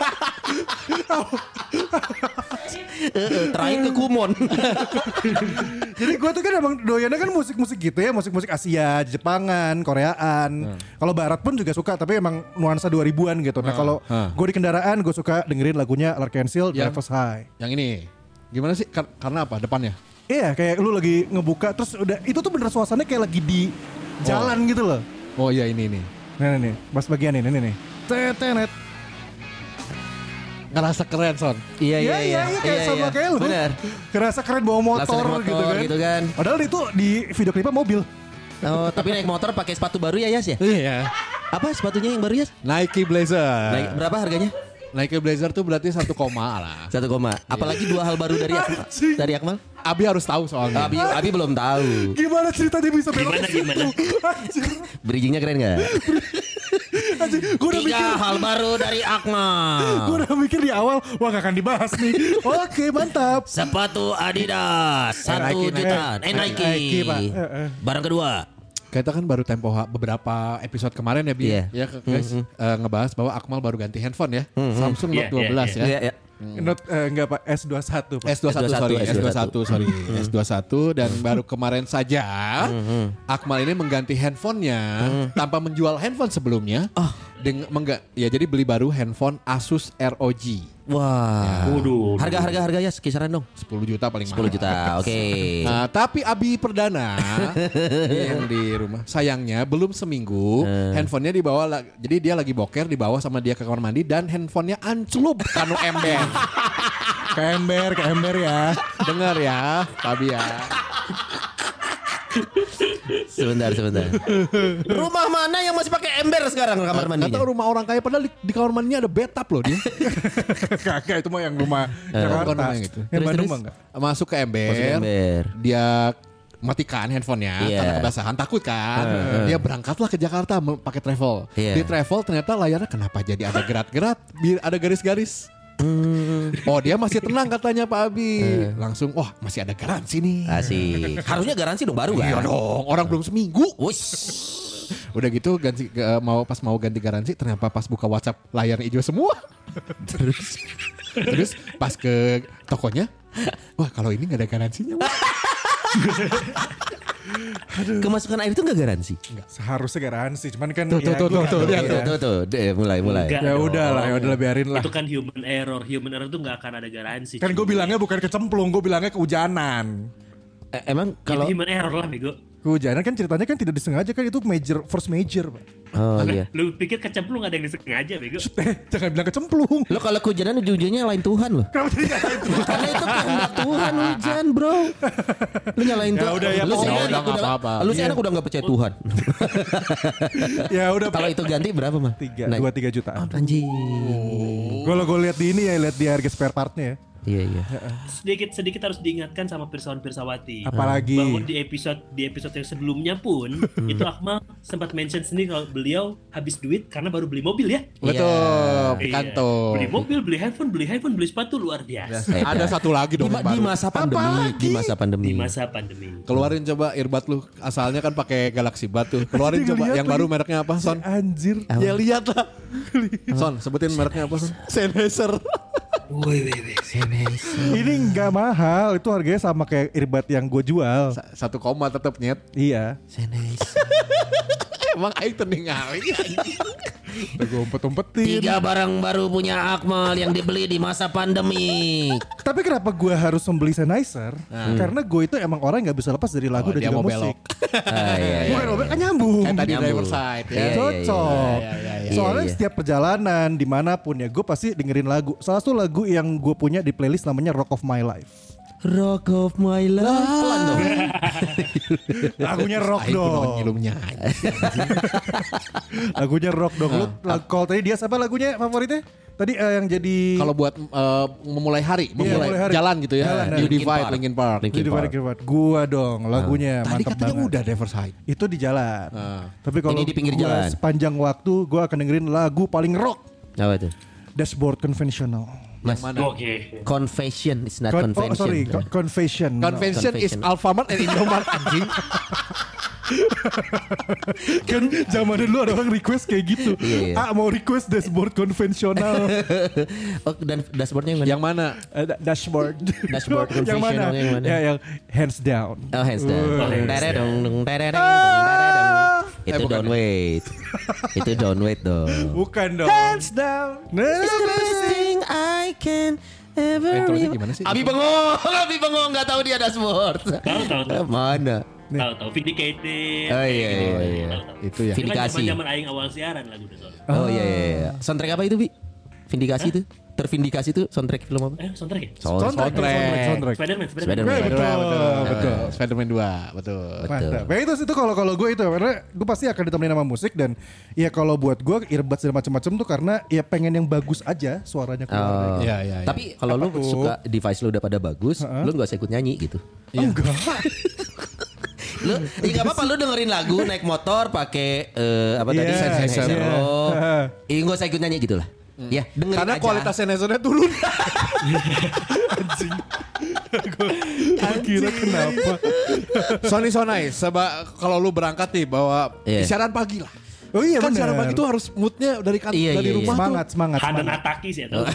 Heeh, terakhir ke Kumon. Jadi gue tuh kan emang doyannya kan musik-musik gitu ya, musik-musik Asia, Jepangan, Koreaan. Kalau Barat pun juga suka, tapi emang nuansa dua ribuan gitu. Nah kalau Hmm. gue di kendaraan, gue suka dengerin lagunya Lark and Seal, Yang- Driver's High. Yang ini. Gimana sih? Kar- karena apa? Depannya? Iya, kayak lu lagi ngebuka, terus udah itu tuh bener suasananya kayak lagi di jalan gitu loh. Oh iya ini nih. Nah, nih, nih, pas bagian ini, nih, nih. Tetenet. Ngerasa keren Son. Iya Iya, iya, iya, kayak sama kayak lu. Benar. Kerasa keren bawa motor, Langsung naik motor gitu, kan. gitu kan. Padahal itu di video klipnya mobil. Oh, tapi naik motor pakai sepatu baru ya Yas ya? Iya. Apa sepatunya yang baru Yas? Nike Blazer. Naik berapa harganya? Nike Blazer tuh berarti satu koma lah. Satu koma. Apalagi dua hal baru dari Akmal. Anjing. Dari Akmal? Abi harus tahu soalnya. Abi, Abi belum tahu. Gimana ceritanya bisa belok Gimana, ke situ? gimana? Anjir, Bridgingnya keren nggak? anjir. Gue udah mikir, Tiga hal baru dari gue Akmal. udah mikir di awal, wah gak akan dibahas nih. Oke, mantap. Sepatu Adidas satu Nike, juta. Nike. Eh Nike. Nike, Pak. Eh, eh. Barang kedua. Kita kan baru tempo ha- beberapa episode kemarin ya Bi. Iya. Ya guys, eh, ngebahas bahwa Akmal baru ganti handphone ya. Samsung Note Iya, dua belas iya, ya. Iya, iya. Not, eh, enggak Pak, S dua puluh satu Pak. S dua puluh satu S dua puluh satu, sorry, S S dua dua puluh puluh satu. satu sorry, S dua puluh satu dan baru kemarin saja Akmal ini mengganti handphonenya tanpa menjual handphone sebelumnya. Dengan mengga- ya jadi beli baru handphone Asus R O G Wah. Waduh. Harga-harga harga ya kisaran dong. sepuluh juta paling sepuluh mahal. juta. Oke. Nah, tapi Abi Perdana ini yang di rumah sayangnya belum seminggu handphonenya dibawa la- jadi dia lagi boker dibawa sama dia ke kamar mandi dan handphonenya ancelup kanu ember. Ke ember, ke ember ya. Dengar ya, Abi ya. Sebentar, sebentar. Rumah mana yang masih pakai ember sekarang kamar Nggak mandinya? tahu rumah orang kaya padahal di, di kamar mandinya ada bathtub loh dia. Kagak, itu mah yang rumah Bukan Jakarta. rumah yang itu. Yang Terus, Bandung terus? mah enggak. Masuk ke ember, Masuk ke ember. dia matikan handphonenya Iya. karena kebasahan takut kan. Dia berangkatlah ke Jakarta me- pakai travel. Iya. Di travel ternyata layarnya kenapa jadi ada gerat-gerat, bi- ada garis-garis. Oh dia masih tenang katanya Pak Abi. Langsung wah masih ada garansi nih. Asik. Harusnya garansi dong baru kan? Iya dong, orang belum seminggu. Wush. Udah gitu ganti ke- mau pas mau ganti garansi ternyata pas buka WhatsApp layarnya hijau semua. Terus terus pas ke tokonya, wah kalau ini nggak ada garansinya. Wah. Kemasukan air itu nggak garansi. Seharusnya garansi, cuman kan Tuh, ya tuh, tuh, gua tuh, nggak lihat tahu Tuh, ya. tuh, tuh, deh, mulai, mulai. Enggak Ya dong. udah lah, ya udah lah, biarin lah. Itu kan human error. Human error tuh nggak akan ada garansi. Kan gue cuy. bilangnya bukan kecemplung, gue bilangnya kehujanan. Eh, emang Kalau kalau, human error lah bego. Kehujanan kan ceritanya kan tidak disengaja kan itu major, first major. Pak. oh iya. Lu pikir kecemplung ada yang disengaja bego? Eh, jangan bilang kecemplung. Lo kalau kehujanan ujung-ujungnya nyalain Tuhan loh. Kenapa jadi nyalain Tuhan? Karena itu kehendak Tuhan hujan bro. Lu nyalain Ya Tuhan. udah, ya lu sih pokoknya anak udah nggak udah- apa-apa. Lu sih Iya. anak udah nggak percaya Tuhan. Ya udah Kalau itu ganti berapa mah? tiga, Nah, dua tiga jutaan. Anjing. Kalau gue lihat di ini ya, lihat di harga spare partnya ya. Iya iya. Sedikit sedikit harus diingatkan sama Pirsawan Pirsawati. Apalagi Bahwa di episode di episode yang sebelumnya pun itu Akmal sempat mention sendiri kalau beliau habis duit karena baru beli mobil ya. Betul, Iya. pikanto. Beli mobil, beli handphone, beli handphone, beli sepatu luar biasa. Beda. Ada satu lagi Di, dong ma- yang di baru. masa pandemi, di masa pandemi. Di masa pandemi. Keluarin coba earbud lu. Asalnya kan pakai Galaxy Buds tuh. Keluarin Tadi coba ngeliat yang lagi. baru mereknya apa, Son? anjir. Ya lihat lah. Son, sebutin mereknya apa, Son? Sennheiser. Woi, woi, woi. Ini nggak mahal, itu harganya sama kayak earbud yang gue jual. Sa- Satu koma tetap nyet. Iya. Emang aing tening aing. Udah gue umpet-umpetin. Tiga barang baru punya Akmal yang dibeli di masa pandemi. Tapi kenapa gue harus membeli Sennheiser? Karena gue itu emang orang yang nggak bisa lepas dari lagu Oh, dan dia juga mau musik. Ah, iya, iya. Bukan mau belok, kan nyambung. Kayak tadi Nyambung. driver side ya. Iya, iya, Cocok. iya, iya, iya. Soalnya Iya, iya. setiap perjalanan dimanapun ya gue pasti dengerin lagu. Salah satu lagu yang gue punya di playlist namanya Rock of My Life. Rock of my life. Pelan dong. Lagunya rock Aing kudu dong. ngilumnya. Lagunya rock dong. Lu lag- kalau tadi dia siapa lagunya favoritnya? Tadi eh, yang jadi Kalau buat eh, memulai hari, memulai, memulai hari. jalan gitu ya. Jalan, New Linkin Divide, Park. Linkin Park. Linkin Jadi Park. Park. Park. Gua dong lagunya Tadi mantap katanya banget. udah driver side. Itu di jalan. Ah. Tapi kalau Ini di pinggir gua jalan. sepanjang waktu gue akan dengerin lagu paling rock. Apa itu? Dashboard Conventional. Mas, Mana? Oke. confession is not Con- convention. oh sorry, co- Confession. Convention is Confession. Alfamart and Indomart anjing. Kan zaman dulu ada orang request kayak gitu. Iya, iya. Ah mau request dashboard konvensional. Oh, dan dashboardnya yang mana? Yang mana? Ada dashboard. Dashboard yang mana? konvensionalnya yang mana? Ya yang hands down. Oh, hands down. Uh. Dong, dere dong, dong, dere deng, dong, dere dong. Eh, Itu bukan down weight. Itu down weight dong. Bukan dong. Hands down. Nah, It's the best thing I can ever Intronya re- gimana sih? Abi bengong, Abi bengong nggak tahu dia dashboard. Tahu tahu tahu. Mana? Tahu tahu Vindicated. Oh, iya, iya, iya. Tahu, tahu. Itu ya. Itu kan Vindikasi. zaman aing awal siaran lagu itu. soalnya. Oh iya iya iya. Soundtrack apa itu, Bi? Vindikasi itu? Tervindikasi itu soundtrack film apa? Eh, soundtrack ya? soundtrack, soundtrack, soundtrack. Spiderman, Spiderman. Spiderman. Eh, betul, betul. betul. Spider-Man dua, betul. Mantap. Ya itu itu kalau kalau gue itu karena gue pasti akan ditemenin sama musik dan ya kalau buat gue earbuds dan macam-macam tuh karena ya pengen yang bagus aja suaranya keluar. Oh. Iya, iya, iya. Tapi kalau lu tuh? suka device lu udah pada bagus, lu nggak usah ikut nyanyi gitu. Enggak. Lu ya nggak apa-apa lu dengerin lagu naik motor pakai eh, apa tadi Iya, Sennheiser iya. lo. Iya nggak usah ikut nyanyi gitu lah. Ya dengerin Karena aja. kualitas Sennheiser-nya turun. Gue kira kenapa? Sony Sonai, seba kalau lu berangkat nih bawa Iya. siaran pagi lah. Oh iya Kan benar. siaran pagi tuh harus moodnya dari kan Iya, dari iya, iya. rumah Semangat, tuh. semangat, Hanan semangat. Ataki sih ya tahu.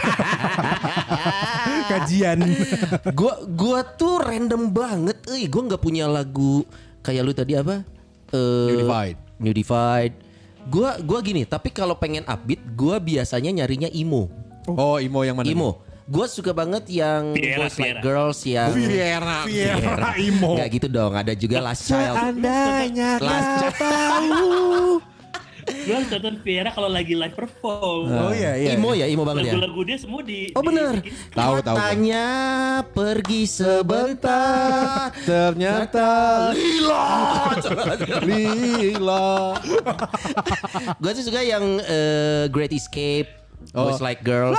Kajian. Gua gua tuh random banget. Eh, gua nggak punya lagu kayak lu tadi apa? Eh, New Divide. New Divide. Gua gua gini, tapi kalau pengen upbeat, gua biasanya nyarinya emo. Oh, Imo yang mana? Emo. Gua suka banget yang Viera, Boys Like Viera. Girls yang Viera. Viera Imo. Nggak gitu dong. Ada juga Last Child. Seandainya Last kau Child. tahu. Gue harus nonton Viera kalau lagi live perform. Oh iya iya. Emo ya, emo banget ya. Lagu-lagu dia semua di Oh bener. di- Tahu, tahu. Matanya pergi sebentar. Ternyata Lila. Lila. Gue sih suka yang eh, Great Escape, Oh. Boys Like Girls.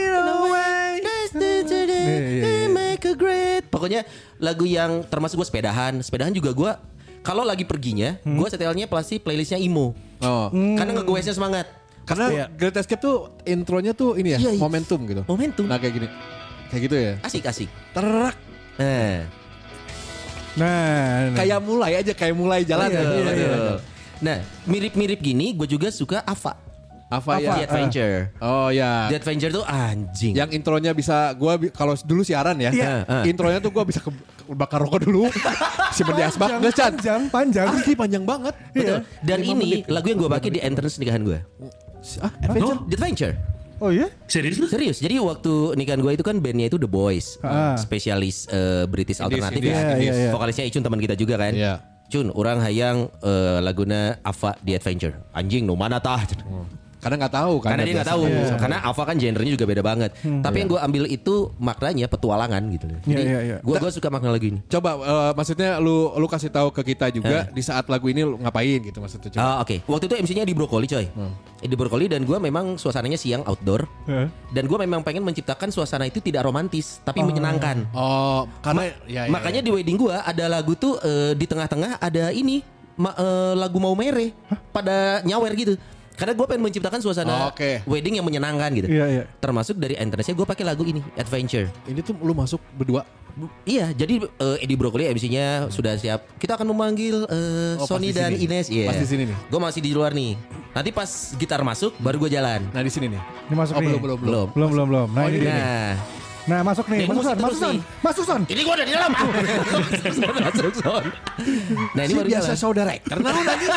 Make a great. Pokoknya lagu yang termasuk gue sepedahan. Sepedahan juga gue kalau lagi perginya, gue setelnya pasti playlistnya emo. Oh. Karena nge-goesnya semangat. Karena Great Escape tuh intronya tuh ini ya, Iya, iya. momentum gitu. Momentum. Nah kayak gini. Kayak gitu ya. Asik asik. Terak. Nah, Nah, nah. Kayak mulai aja, kayak mulai jalan. Iya, ya. iya, iya. betul. Nah, mirip-mirip gini gue juga suka Ava. Apa Apa? ya? The Adventure. Oh ya. The Adventure tuh anjing. Yang intronya bisa gua bi- kalau dulu siaran ya. Iya. Intronya tuh gua bisa ke, bakar rokok dulu. Simpen di asbak nggak Chan? Panjang, panjang. Asli panjang banget. Betul. Dan Lima ini menit. lagu yang gue pakai di entrance nikahan gue. Ah, Adventure. The Adventure. Oh iya? Serius lu? Serius. Jadi waktu nikahan gue itu kan bandnya itu The Boys, Ah. spesialis eh, British alternatif Indies, ya. Indies. Iya, iya, iya. Vokalisnya Icun teman kita juga kan. Iya. Cun, orang hayang eh, laguna Ava The Adventure. Anjing, no mana tah? Karena nggak tahu kan. Karena dia nggak tahu. Karena Ava kan genrenya juga beda banget. Tapi yang gue ambil itu maknanya petualangan gitu. Jadi Iya, iya, iya. gue gue suka makna lagu ini. Coba eh, maksudnya lu lu kasih tahu ke kita juga di saat lagu ini lu ngapain gitu maksudnya. Coba. Ah, oke. Waktu itu M C-nya di Brokoli coy. Di Brokoli dan gue memang suasananya siang outdoor. Heeh. Dan gue memang pengen menciptakan suasana itu tidak romantis tapi menyenangkan. Oh, karena ya, ya, Makanya di wedding gue ada lagu tuh eh, di tengah-tengah ada ini ma- eh, lagu Mau Mere pada nyawer gitu. Karena gue pengen menciptakan suasana Oh, oke. wedding yang menyenangkan gitu. Iya, iya. Termasuk dari entrance-nya gue pakai lagu ini Adventure. ini tuh lu masuk berdua. Iya, jadi eh, Eddie Brokoli M C-nya sudah siap. Kita akan memanggil eh, Oh, Sony pas di dan sini. Ines. Iya. Pas di sini nih. Gue masih di luar nih. Nanti pas gitar masuk, baru gue jalan. Nah di sini nih. Ini masuk Oh nih. belum belum belum. Belum. Belum, belum, belum. Nah, Oh, ini ini dia. nih. Nah, Nah, masuk nih. Ini Masuk musik son, terus masuk son. nih. Masuk son. ini gue udah di dalam. masuk son. Nah ini Si baru biasa jalan. saudara. Karena lu nanya.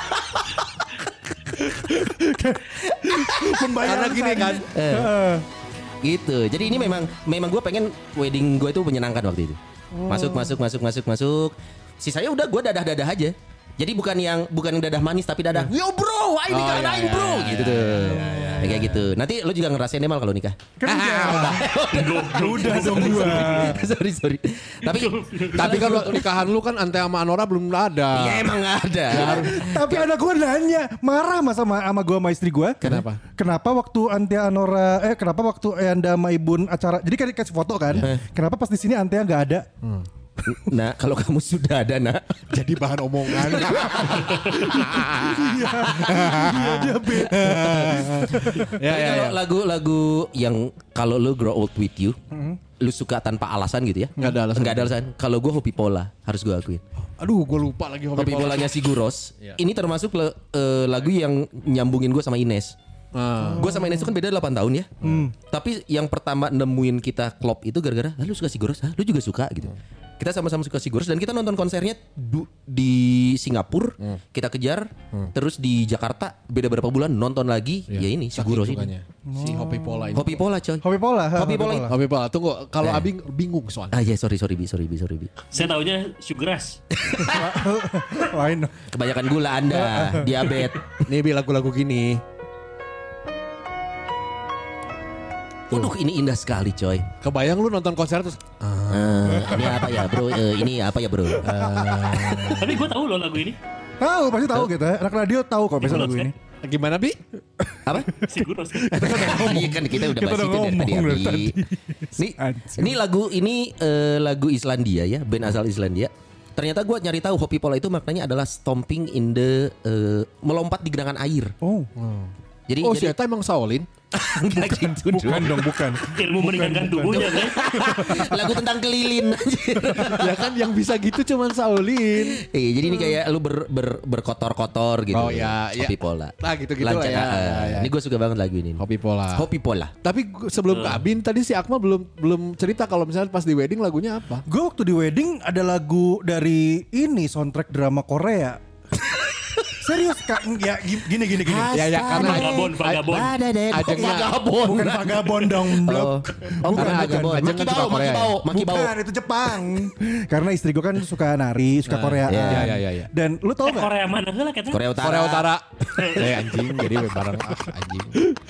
Karena gini kan. Heeh. Gitu. Jadi ini memang memang gue pengen wedding gue itu menyenangkan waktu itu. Masuk masuk masuk masuk masuk. Sisanya udah gue dadah-dadah aja. Jadi bukan yang bukan yang dadah manis tapi dadah yo bro, ayo Oh, nikah iya, aing iya, bro iya, gitu iya, tuh. iya, iya, Ya, kayak gitu. Nanti lo juga ngerasain deh mal kalau nikah. Kan udah. Udah dong gua. sorry sorry. Tapi Tapi kan waktu nikahan lu kan Ante sama Anora belum ada. ya emang nggak ada. Tapi anak gue nanya, marah mas sama sama gue sama istri gue. Kenapa? Kenapa waktu Antia Anora, eh kenapa waktu Anda sama Ibun acara, jadi kan dikasih foto kan? Kenapa pas di sini Antia nggak ada? Nah kalau kamu sudah ada nak. Jadi bahan omongan. Iya, dia beda. Ya Tapi ya kalau ya. lagu-lagu yang kalau lu grow old with you, lu suka tanpa alasan gitu ya? Nggak ada alasan. Nggak ada alasan. Kalau gue Hopi Pola harus gue akuin. Aduh, gue lupa lagi Hopi Pola. Polanya si Guros. Iya. Ini termasuk le- eh, lagu yang nyambungin gue sama Ines. Ah. Gue sama Ines itu kan beda delapan tahun ya. Tapi yang pertama nemuin kita klop itu gara-gara, "Ah, lu suka si Guros? Hah, lu juga suka gitu. Kita sama-sama suka si Guros dan kita nonton konsernya du- di Singapura, kita kejar, terus di Jakarta beda berapa bulan nonton lagi, ya ini si Saking Guros ini. sukanya. Si Hopi Pola ini. Hopi Pola coy. Hobi pola. ha, Hobi Pola. Hopi Pola. Tunggu, kalau Eh. Abing bingung soalnya. Ah ya sorry sorry bi sorry bi sorry bi. Saya taunya Sugar Rush. Lain. Kebanyakan gula anda, diabetes. Nih Bi lagu-lagu gini. Waduh ini indah sekali coy. Kebayang lu nonton konser terus Eh, ini apa ya bro? Eh, ini apa ya bro? Eh, Tapi gue tahu loh lagu ini. Tahu pasti tahu gitu ya. Anak radio tahu kok biasa lagu ini. gimana Bi? apa? Sigur Rush. Iya kan kita udah Kita bahas udah itu dari tadi. ngomong dari Abi. tadi. Ini, Anjing. ini lagu ini eh, lagu Islandia ya, band asal Islandia. Ternyata gue nyari tahu Hopi Pola itu maknanya adalah stomping in the eh, melompat di genangan air. Oh. Jadi Oh si jadi Eta emang Shaolin? enggak gitu Bukan dong. dong, bukan. Ilmu meringankan tubuhnya kan. Lagu tentang kelilin anjir. Ya kan yang bisa gitu cuman Shaolin. Iya, jadi ini kayak lu ber, ber, berkotor-kotor gitu. Oh, ya, ya. Hopi Pola. Nah, gitu-gitu lah Lancar, ya, eh, ya, ya. Ini gue suka banget lagu ini. Hopi Pola. Hopi Pola. Tapi gua- sebelum ke Abin tadi si Akmal belum belum cerita kalau misalnya pas di wedding lagunya apa? Gue waktu di wedding ada lagu dari ini soundtrack drama Korea. Serius kak, ya gini gini gini. Ya, ya, karena- Vagabond, Vagabond. Ajengnya- Vagabond. Bukan vagabond dong, Oh, blok. oh bukan Karena Vagabond. ajeng- Maki ajeng kan Bau, suka Maki Korea Bau, Maki Bau. Bukan, itu Jepang. Karena istri gue kan suka nari, suka Korea. iya, iya, iya, iya. Dan lu tau Eh, gak? Korea mana lah katanya? Korea Utara. Korea Utara. Eh anjing jadi bareng ah, anjing.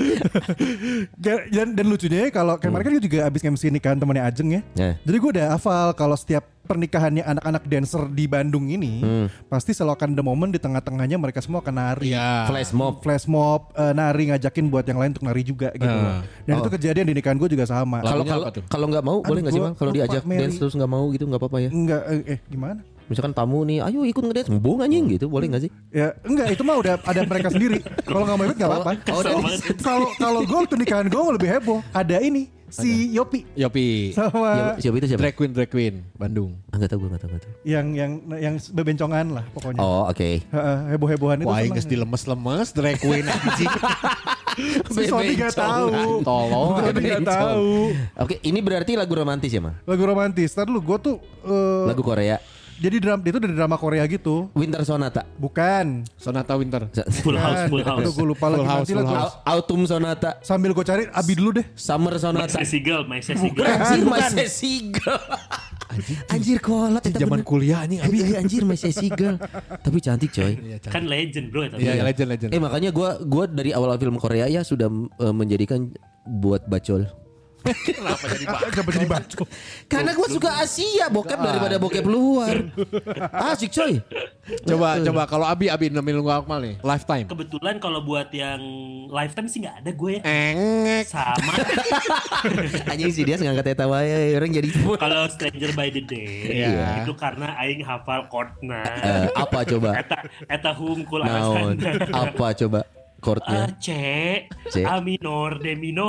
Dan, dan lucunya ya kalau kemarin kan gue juga abis M C nikahan temannya Ajeng ya. Ya. Jadi gue udah hafal kalau setiap pernikahannya anak-anak dancer di Bandung ini pasti selalu akan ada momen di tengah-tengahnya mereka semua akan nari. Iya. Flash mob. Flash mob, eh, nari ngajakin buat yang lain untuk nari juga gitu. Ah. Dan itu kejadian di nikahan gue juga sama. Kalau Lagunya kalau apa tuh? kalau nggak mau boleh nggak sih gua bang? Kalau lupa, diajak Mary. dance terus nggak mau gitu nggak apa-apa ya? Enggak, eh, eh gimana? Misalkan tamu nih, ayo ikut ngedance, mbung anjing gitu, boleh nggak sih? Ya enggak, itu mah udah ada mereka sendiri. Kalau nggak mau ikut nggak apa-apa. Oh, Kesel udah. banget. Kalau kalau gue waktu nikahan gue lebih heboh. Ada ini Si Yopi Yopi. sama Siapa itu siapa? Drag Queen, Drag Queen, Bandung. Enggak tahu gue enggak tahu enggak tahu. yang yang yang bebencongan lah pokoknya. Oh, oke. Heeh, heboh-hebohan itu. Wah, seneng. geus dilemes-lemes Drag Queen anjing. Si Sony gak tahu. Tolong. Sony gak tahu. Oke, ini berarti lagu romantis ya, Mang? Lagu romantis. Tadi lu gue tuh eh, Lagu Korea. jadi dram itu dari drama Korea gitu. Winter Sonata. Bukan. Sonata Winter. Full house, full Aduh, house. gue lupa lagi. Full house, Nanti lah full gua- house. Au- Autumn Sonata. Sambil gue cari Abi dulu deh. Summer My Sonata. Sassy Girl, My Sassy Girl. Anjir, Bukan. My Sassy Girl. Anjir kolot. Di eta zaman bener. kuliah anjing Abi. Eh, anjir, My Sassy Girl. Tapi cantik coy. Kan legend bro. Tapi Iya, legend legend. Eh makanya gue gua dari awal film Korea ya sudah eh, menjadikan buat bacol. Kenapa jadi Pak? Kenapa jadi bacot? Karena gue suka Asia bokep daripada bokep luar. Asik coy. Coba coba kalau Abi Abi nemuin lu Akmal nih. Lifetime. kebetulan kalau buat yang lifetime sih nggak ada gue ya. Engek. Sama Anjing sih dia ngangkat eta wae orang jadi kalau Stranger by the Day Iya. itu karena aing hafal chordna. Eh, apa coba? Eta eta hungkul Naon? alasan. Apa coba? Ah, Chordnya. C, C. A minor, D minor.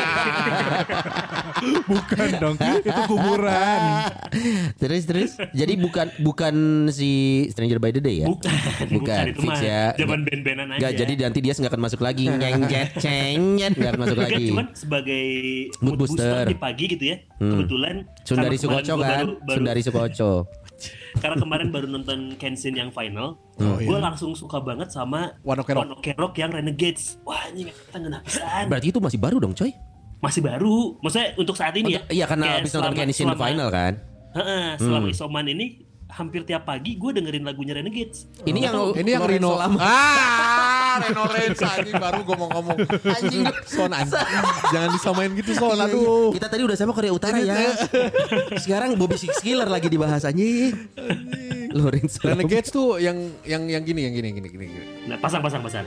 Bukan dong. Itu kuburan. Terus terus. Jadi bukan bukan si Stranger by the Day ya? Bukan, bukan, itu fix mah ya. zaman band-bandan aja. Enggak, jadi nanti dia nggak akan masuk lagi. Nyengjet, cengjet, nggak akan masuk Enggak, lagi. cuman sebagai Mood mood, booster. booster. di pagi gitu ya. Kebetulan Sundari karena kemarin Sukoco gua kan? baru- baru- Sundari Sukoco. Karena kemarin baru nonton Kenshin yang final, Oh, gue iya. langsung suka banget sama One Ok Rock. One Ok Rock yang Renegades. Wah ini kita nggak pisan. Berarti itu masih baru dong coy? Masih baru. Maksudnya untuk saat ini ya. Iya karena Kayak habis nonton selama- Kenshin selama- final kan. Heeh, selama isoman ini hampir tiap pagi gue dengerin lagunya Renegades. Ini yang Ini yang Lorenzo Rino. Lama. Ah, Reno Renza anjing baru gue mau ngomong. Anjing. Son anjing. Jangan disamain gitu Son. Iya, Aduh. iya. Kita tadi udah sama Korea Utara ya. Sekarang Bobby Six Killer lagi dibahas anjing. Lorenzo. Renegades tuh yang yang yang gini yang gini gini gini. gini. Nah pasang pasang pasang.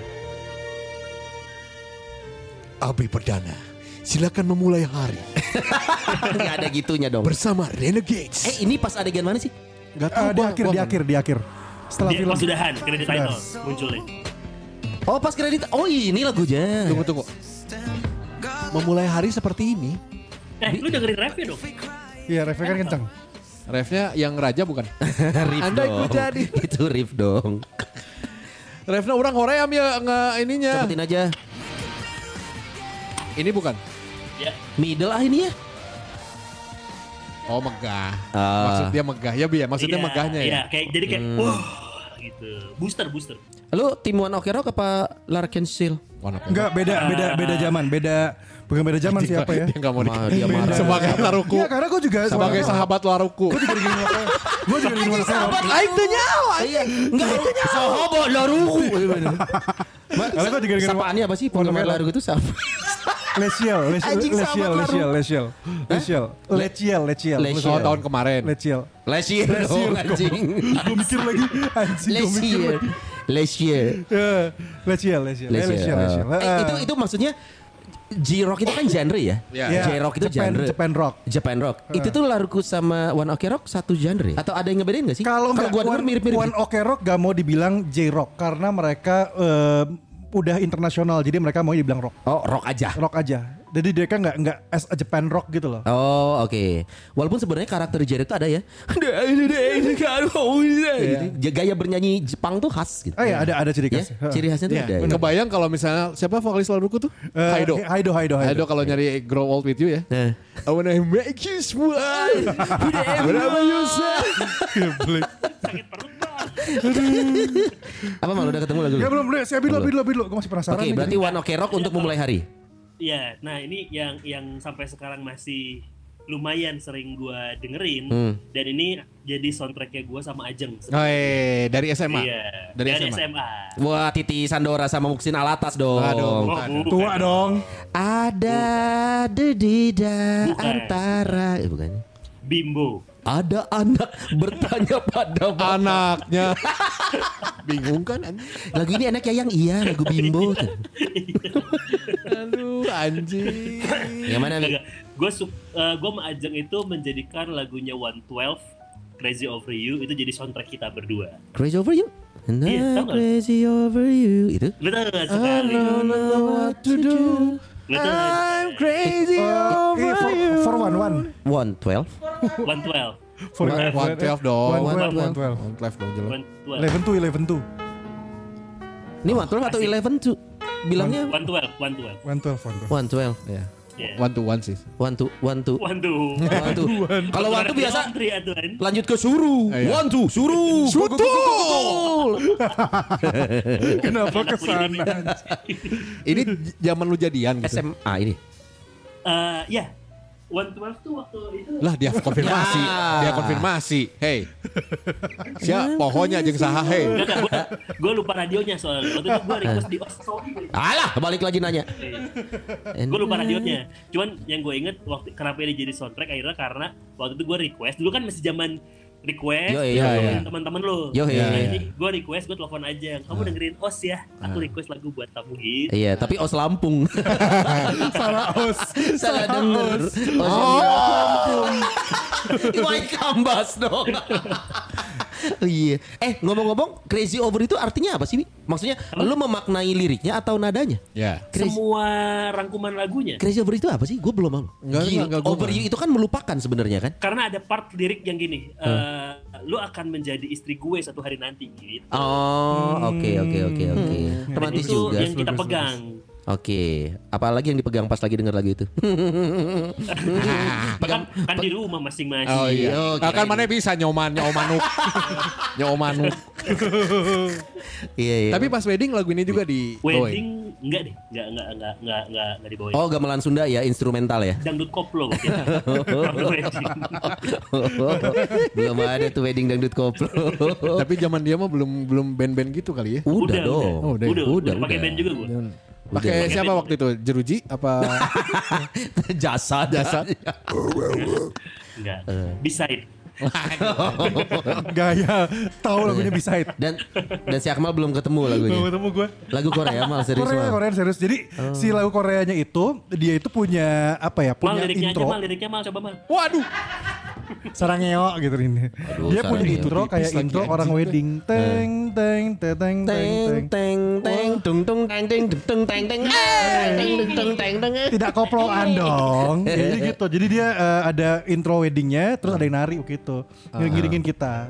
Abi Perdana. Silakan memulai hari Enggak ada gitunya dong. bersama Renegades. Eh ini pas adegan mana sih? Gak Ah, di gua- akhir, gua di nggak- akhir, di akhir. Setelah Dia film. pas udahan kredit title munculnya. Oh pas kredit. Oh ini lagunya. Tunggu tunggu. Memulai hari seperti ini. Eh lu dengerin refnya dong. Iya, refnya kan kencang. Refnya yang raja bukan? Riff Andai dong. ku jadi. Itu riff dong. Refnya orang Korea ya nggak ininya. Cepetin aja. Ini bukan? Ya. Middle ah ini ya. Oh megah. Ah. Maksud dia megah ya bi ya. Maksudnya Iya, megahnya ya. Iya, kayak jadi kayak Hmm. wah gitu. Booster booster. Lu tim One Ok Rock apa Larkin Seal? Warna kuning. Enggak, beda, beda, beda zaman. Beda, bukan beda zaman siapa ya? Dia nggak mau Ma, di- dia marah. sebagai Laruku. Iya, karena gue juga Sebagai sahabat Laruku. Gue juga gini Gue juga gini Sahabat lain tuh nyawa. Iya, enggak itu nyawa. Sahabat Laruku. Karena gua juga dengerin- Sapaannya apa sih penggemar Laruku itu siapa? Leciel, Leciel, Anjing Leciel, sahabat Leciel, Laruku. Leciel, Leciel, Leciel, Leciel, Leciel. Oh tahun kemarin. Leciel. Lesier Lesier, dong anjing. Gue mikir lagi, anjing gue mikir Lesier. lagi. Lesier. Eh, Leciel, Leciel, eh, Leciel, Leciel. Eh, Eh, itu itu maksudnya J-Rock itu kan genre ya? Iya. Iya, J-Rock itu Japan- genre. Japan Rock. Japan Rock. Itu tuh Laruku sama One Ok Rock satu genre ya? Atau ada yang ngebedain gak sih? Kalau nggak gua denger One, mirip-mirip. One Ok Rock gak mau dibilang J-Rock karena mereka eh, udah internasional, jadi mereka mau dibilang rock, Oh, rock aja. rock aja. Jadi mereka nggak nggak as a Japan Rock gitu loh. Oh oke. Walaupun sebenarnya karakter J-Rock itu ada ya. Gitu. Gaya bernyanyi Jepang tuh khas gitu. Oh iya, ada ada ciri Ya, khas. ciri khasnya tuh Iya, ada. ya. kebayang kalau misalnya siapa vokalis Laruku tuh? Eh, Haido. Haido, Haido, Haido. Haido kalau nyari Grow Old With You ya. Nah. I wanna make you smile. Whatever you say. Sakit perut bang. Apa malu udah ketemu lagu? Ya belum, belum. Si Abi dulu, Abi dulu, Abi dulu. Gue masih penasaran. Oke, nih. berarti One Ok Rock untuk memulai hari. Iya, nah ini yang yang sampai sekarang masih lumayan sering gua dengerin Hmm. dan ini jadi soundtracknya gua sama Ajeng. Oh, eh, dari S M A. Iya, Dari, dari, S M A. S M A. Wah, Titi Sandora sama Muksin Alatas dong. Aduh. Oh, Aduh. bukan. Tua dong. Ada dedida Bukan. antara eh bukan. Bimbo. Ada anak bertanya pada bapak. Anaknya. Bingung kan anjing? Lagu ini enak ya yang iya lagu Bimbo tuh. Aduh anjing. Yang mana nih? Gue uh, gue sama Ajeng itu menjadikan lagunya one twelve Crazy Over You itu jadi soundtrack kita berdua. Crazy Over You? And Iya, I'm tau gak? crazy over you. Itu? Lu tau gak I sekali? don't know what to do. Lu tau gak? I'm crazy Oh, over ini one one. One twelve. one twelve. For One- eleven. one twelve dong. One twelve, One one twelve. One twelve dong jelas. one twelve. Eleven two, eleven two. Ini one twelve atau eleven tuh? Bilangnya one twelve. one twelve. One twelve, one twelve. one twelve. Ya. Yeah. One to one sih. One two, one two. One two. One two. Kalau one two biasa Tri aturan. lanjut ke suruh. Iya. One two, suruh. Betul. Kenapa kesana? Ini j- zaman lu jadian S gitu. M A ini. Eh, ya. one twelve tuh waktu itu. Lah dia konfirmasi, Ya. dia konfirmasi. Hey. Siap pohonnya jeung saha hey. Gue lupa radionya soalnya. Waktu itu gue request di os sorry. Alah, balik lagi nanya. Gue lupa radionya. Cuman yang gue inget waktu kenapa ini jadi soundtrack akhirnya karena waktu itu gue request. Dulu kan masih zaman request, Yo, lu iya, telepon iya. teman-teman lo. Yo, iya, Nah, iya. ini gue request, gue telepon aja. Kamu dengerin os ya. Aku request lagu buat kamu hit. Iya, tapi Os Lampung. Salah os. Salah denger. Oh. Lampung. Iwai Kambas dong. Oh, iya. Eh, ngomong-ngomong, Crazy Over itu artinya apa sih, Bi? Maksudnya lu memaknai liriknya atau nadanya? Ya. Crazy, Semua rangkuman lagunya. Crazy Over itu apa sih? Gue belum tahu. Enggak, Gila, enggak, gua Over enggak. You itu kan melupakan sebenarnya kan? Karena ada part lirik yang gini. eh, lu akan menjadi istri gue satu hari nanti gitu. Oh, oke oke oke oke. Dan Romantis itu juga. yang kita pegang. Oke, apalagi yang dipegang pas lagi denger lagu itu? Bahkan kan di rumah masing-masing. Oh iya. Oh, Nah, kan kirain. mana bisa nyoman nyomanuk. nyomanuk. Iya iya. Tapi pas wedding lagu ini juga di Wedding enggak deh, enggak enggak enggak enggak enggak enggak dibawain. Oh, gamelan Sunda ya, instrumental ya. Dangdut koplo gitu. Waktu wedding. Belum ada tuh wedding dangdut koplo. Tapi zaman dia mah belum belum band-band gitu kali ya. Udah dong. Oh, udah. Udah, Udah, udah, pakai udah. band juga gue. Pakai Pakai siapa band. waktu itu? Jeruji apa Jasa jasa? Enggak. Beside. Gaya tahu lagunya Beside. Dan dan si Akmal belum ketemu lagunya. Belum ketemu gue. Lagu Korea Mal serius Korea, Mal. Korea serius. Jadi si lagu Koreanya itu dia itu punya apa ya? Mal Punya liriknya intro. aja mal, liriknya mal coba mal. Waduh. Sarangeo gitu ini. Dia punya sarangeo. intro kayak Tipis intro lagi, orang anjing. wedding. Teng teng teng teng teng Teng teng. teng teng tung tung teng teng tung teng teng eh, teng tung teng teng. Tidak koploan dong. Jadi gitu. Jadi dia eh, ada intro weddingnya, terus ada yang nari gitu. Ngiring-ngiringin kita.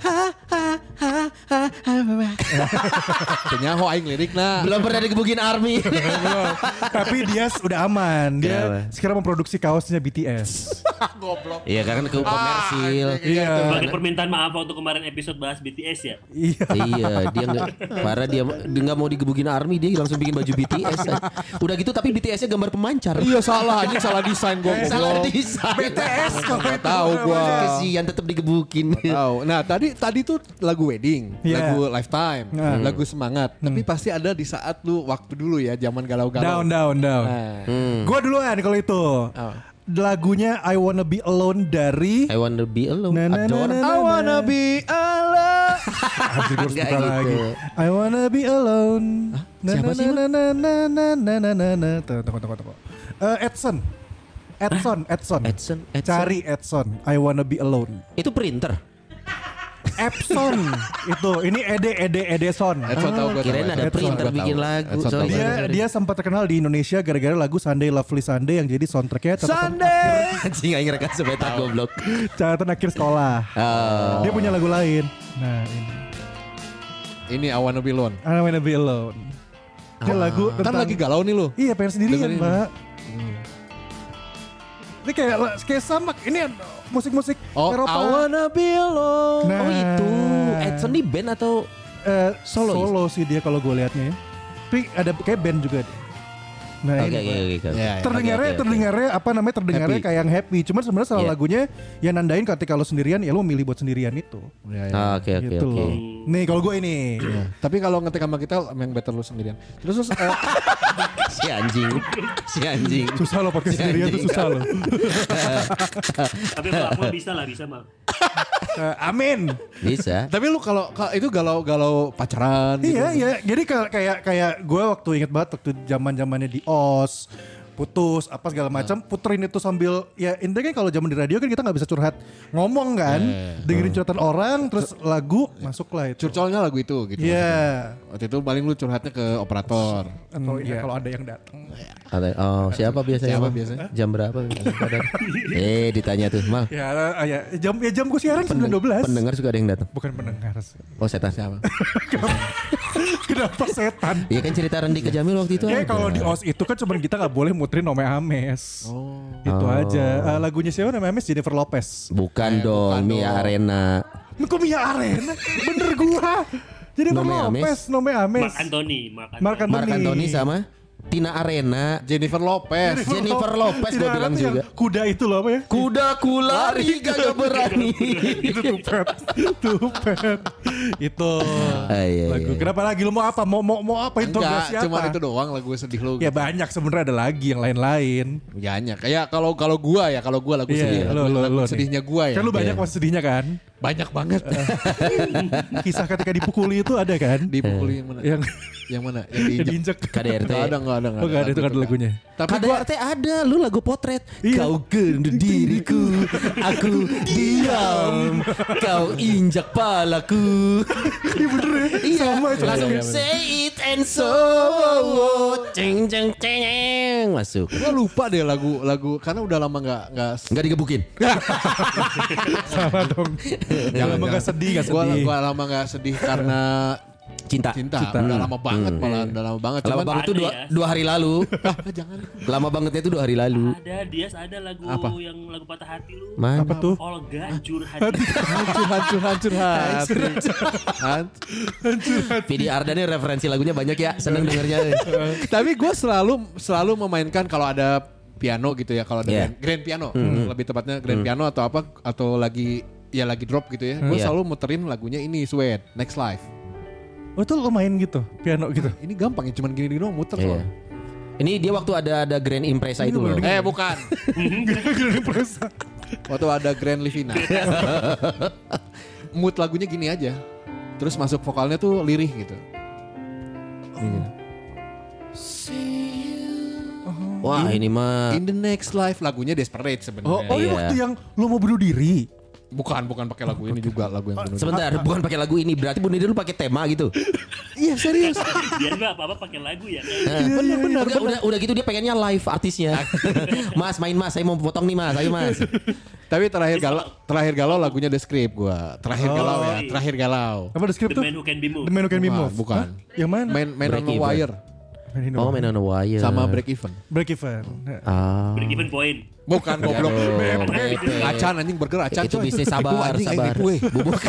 Penyaho aing lirik nah. Belum pernah digebukin army. Tapi dia udah aman. Dia Kenapa? sekarang memproduksi kaosnya B T S. Goblok. Iya karena ke komersil. Iya. Sebagai permintaan maaf waktu kemarin episode bahas B T S ya. Iya. Iya, dia nggak, parah dia dia nggak mau digebukin army, dia langsung bikin baju B T S. Udah gitu tapi B T S-nya gambar pemancar. Iya salah, ini salah desain gua. Salah goblok. desain. B T S kok Nggak itu tahu gua. Kesian tetap digebukin. Tahu. Nah, tadi tadi tuh lagu wedding, Iya. lagu lifetime, Hmm. lagu semangat. Tapi pasti ada di saat lu waktu dulu ya, zaman galau-galau. Down down down. Nah. Gua duluan kalau itu. Oh. Lagunya I Wanna Be Alone dari I wanna be alone. Na, na, na, Adore. na, na. I wanna be alone. Anjir, gua harus Nggak buka gitu. lagi. I wanna be alone. Na, Siapa na, sih, na, na, na, na, na, na, na, na. Tuh, Tunggu tunggu tunggu. Eh, Edson. Edson, Edson. Edson, Edson. Cari Edson. I wanna be alone. Itu printer. Epson itu. Ini Ede Ede Edeson. Edson tahu gua. Kirain tahu, ada Edson. printer Gua tahu. bikin lagu. Edson Sorry, tahu. Dia sorry. dia sempat terkenal di Indonesia gara-gara lagu Sunday Lovely Sunday yang jadi soundtracknya catatan, Sunday. Anjing aing rekam sebetak goblok. catatan akhir sekolah. Oh. Dia punya lagu lain. Nah ini. Ini I wanna be alone. I wanna be alone. Ini lagu Kan tentang lagi galau nih lu. Iya pengen sendirian Dengerin. mbak. Ini kayak kayak sama. Ini musik-musik Oh, Eropa. I wanna be alone. Nah. Oh itu. Edson di band atau Eh, Solo solo sih dia kalau gue liatnya ya. Tapi ada kayak band juga deh. Nah Oke ini oke oke. oke. Ya, ya. terdengarnya Oke, oke, oke. terdengarnya apa namanya terdengarnya Happy. kayak yang happy. Cuman sebenarnya salah Iya. lagunya yang nandain ketika lo sendirian ya lo milih buat sendirian itu. Ya, ya. Ah, Oke oke gitu oke. loh. Nih kalau gue ini. Ya. Tapi kalau ngetik sama kita yang better lu sendirian. Terus terus eh, Si anjing. Si anjing. Susah lo podcast Si sendirian tuh anjing. susah lo. Tapi kalau aku bisa lah, bisa mal. Eh, amin. Bisa. tapi lu kalau kalau itu galau-galau pacaran gitu. Iya iya. Jadi kayak kayak kayak gue waktu inget banget waktu zaman zamannya di O S. putus apa segala macam, puterin itu sambil ya intinya kan kalau zaman di radio kan kita nggak bisa curhat ngomong kan, Yeah. dengerin curhatan orang terus lagu masuklah itu. Curcolnya lagu itu gitu. Iya. Waktu itu paling lu curhatnya ke operator. Atau ya kalau ada yang datang. Ada- Oh siapa biasanya? Siapa Bang? biasanya? Jam berapa? eh ditanya tuh Mal. Ya, ya jam ya jamku siaran sembilan dua belas. Pendengar suka ada yang datang. Bukan pendengar. Oh setan. Siapa? Kenapa setan? Iya kan cerita Rendi ke Jamil waktu itu. Ya ada. kalau di O S itu kan cuman kita nggak boleh muterin Nome Ames. Oh. Itu Oh. aja. Eh, lagunya siapa Nome Ames? Jennifer Lopez. Bukan Eh, dong, bukan Mia dong. Arena. Kok Mia Arena? Bener gua. Jennifer Nome Ames. Lopez, Nome Ames. Mark Anthony, Mark Anthony. Mark Anthony. Mark Anthony sama Tina Arena. Jennifer Lopez. Jennifer Lopez Tidak gua bilang ada yang juga. Kuda itu loh apa ya? Kuda ku lari gak berani. Itu tupet. Tupet. Itu Ah, iya, lagu. iya. Kenapa lagi lu mau apa? Mau mau mau apa interogasi Enggak, apa? cuma itu doang lagu sedih lu. Ya banyak sebenarnya ada lagi yang lain-lain. Banyak. Kayak kalau kalau gua ya, kalau gua lagu Iya, sedih. lo, Lagu, lo, lagu lo nih. sedihnya gua ya. Kan lu banyak Iya. pas sedihnya kan? Banyak banget. Kisah ketika dipukuli itu ada kan? Dipukuli yang mana? Yang Yang mana? Yang yang diinjak. diinjek. K D R T. Enggak ada, enggak ada, Oh gak ada itu kan lagunya. Tapi K D R T ada, lu lagu potret. Iya. Kau gendut diriku, aku diam. Kau injak palaku. Iya bener ya? Iya, Sama itu. langsung Iya, iya, say it and so ceng ceng ceng masuk. gua lupa deh lagu lagu karena udah lama nggak nggak Enggak digebukin. Sama dong. Jangan lama gak sedih, gak gua sedih. gua lama nggak sedih karena Cinta. cinta. Udah lama banget malah, udah lama banget. Lama Cuman banget itu Ada dua, ya. dua hari lalu. ah, jangan. Lama bangetnya itu dua hari lalu. Ada Dias ada lagu Apa? yang lagu patah hati lu. Mana? Apa tuh? Olga hancur hati. hancur hancur hancur hati. Hancur. Vidi Ardani referensi lagunya banyak ya. Seneng dengernya. Tapi gue selalu selalu memainkan kalau ada piano gitu ya, kalau ada Yeah. grand, grand piano, lebih tepatnya grand piano atau apa atau lagi ya lagi drop gitu ya. Gue Yeah. selalu muterin lagunya ini Sweat, Next Life. Oh itu lo main gitu, piano gitu. Ini gampang ya, cuman gini-gini doang muter Iya. soalnya. Ini dia waktu ada ada Grand Impresa itu loh. Eh bukan. Gini presa. Waktu ada Grand Livina. Mood lagunya gini aja. Terus masuk vokalnya tuh lirih gitu. Wah ini mah In the Next Life lagunya Desperate Oh, sebenarnya. oh ini Iya. waktu yang lo mau bunuh diri. Bukan, bukan pakai lagu ini juga, lagu yang benar. sebentar bukan pakai lagu ini berarti bunuh diri lu pakai tema gitu. Iya serius. Dia juga apa-apa pakai lagu ya. bener bener udah, udah udah gitu dia pengennya live artisnya. Mas main mas saya mau potong nih mas ayo mas. Tapi terakhir galau, terakhir galau lagunya The Script gua. Terakhir Oh. galau ya, terakhir galau. Apa the script The tuh? Man Who Can Be Moved. The Man Who Can Be Bukan, Moved. bukan. Hah? Yang mana? Main main on Break the Even. Wire Oh Man on a Wire. sama Break Even. Break Even. Ah. Break Even Point. Bukan goblok. Aduh, B M P. B M P. Acan anjing burger acan. Itu coy. bisnis sabar, Bubuk anjing, sabar. aing nipu, eh. Bubuk.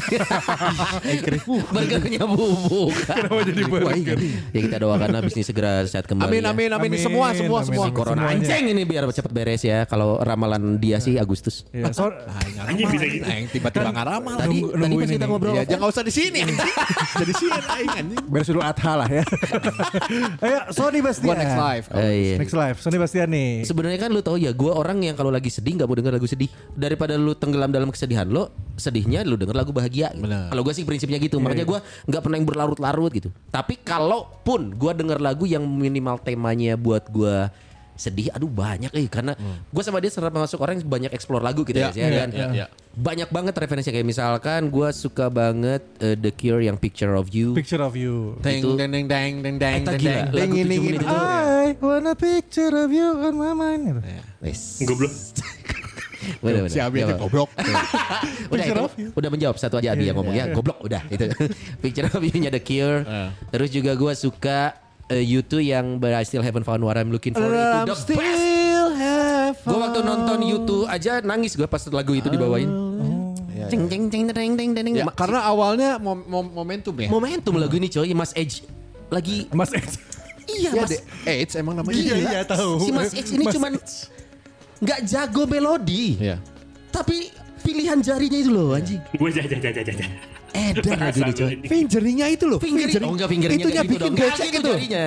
Burgernya bubuk. Kenapa jadi Nipu, aing, burger? anjing. Ya kita doakanlah bisnis segera sehat kembali. Amin ya. amin amin Amin, semua semua amin. semua. Si corona Semuanya. anjing ini biar cepat beres ya. Kalau ramalan dia sih Agustus. Iya, so, Anjing bisa gitu. Aing tiba-tiba ngaramal. Tadi nunggu- tadi nungguin pas kita ini. ngobrol. Ya jangan usah di sini anjing. Jadi sini aing anjing. beres dulu Adha lah ya. Ayo, Sony Bastian. Gua Next Life. Eh, iya. Next Live, Sony Bastian nih. Sebenarnya kan lu tahu ya, gue orang yang kalau lagi sedih nggak mau denger lagu sedih. Daripada lu tenggelam dalam kesedihan lo, sedihnya lu denger lagu bahagia. Gitu. Benar. Kalau gue sih prinsipnya gitu. Makanya gue nggak pernah yang berlarut-larut gitu. Tapi kalaupun gue denger lagu yang minimal temanya buat gue sedih, aduh banyak eh karena gue sama dia serap masuk orang yang banyak explore lagu gitu Ya, ya, ya ya, kan. ya, ya. Banyak banget referensinya kayak misalkan gue suka banget uh, The Cure yang Picture of You. Picture of You. Deng Itu- deng deng deng deng deng Eta deng gila, deng lagu deng tujuh deng menit deng. itu. I want a picture of you on my mind. Gitu. Wes. Goblok. Bener, bener. Si Abi Iya, aja Bang. goblok. Udah Picture itu of You. udah menjawab satu aja Adi yang ngomong ya goblok udah itu. Picture of You-nya The Cure. Eh. Terus juga gue suka uh, U two yang But I Still Haven't Found What I'm Looking For itu I'm the best. still have Gue waktu nonton U two aja nangis gue pas lagu itu dibawain. Ceng ceng ceng deng deng deng. Ya, Ma- karena awalnya mom- mom- momentum ya. momentum lagu ini coy, Mas Edge lagi Mas X. iya Ya, Mas. de- AIDS emang namanya. Iya, Gila. iya, tahu. Si Mas Edge ini Mas cuman nggak jago melodi, Iya. tapi pilihan jarinya itu loh anjing. Gue jaja jaja jaja. Edan lagu ini coy. Fingeringnya itu loh. Fingering, oh enggak fingeringnya Itunya kayak gitu bikin dong. becek Nggak, itu. jarinya.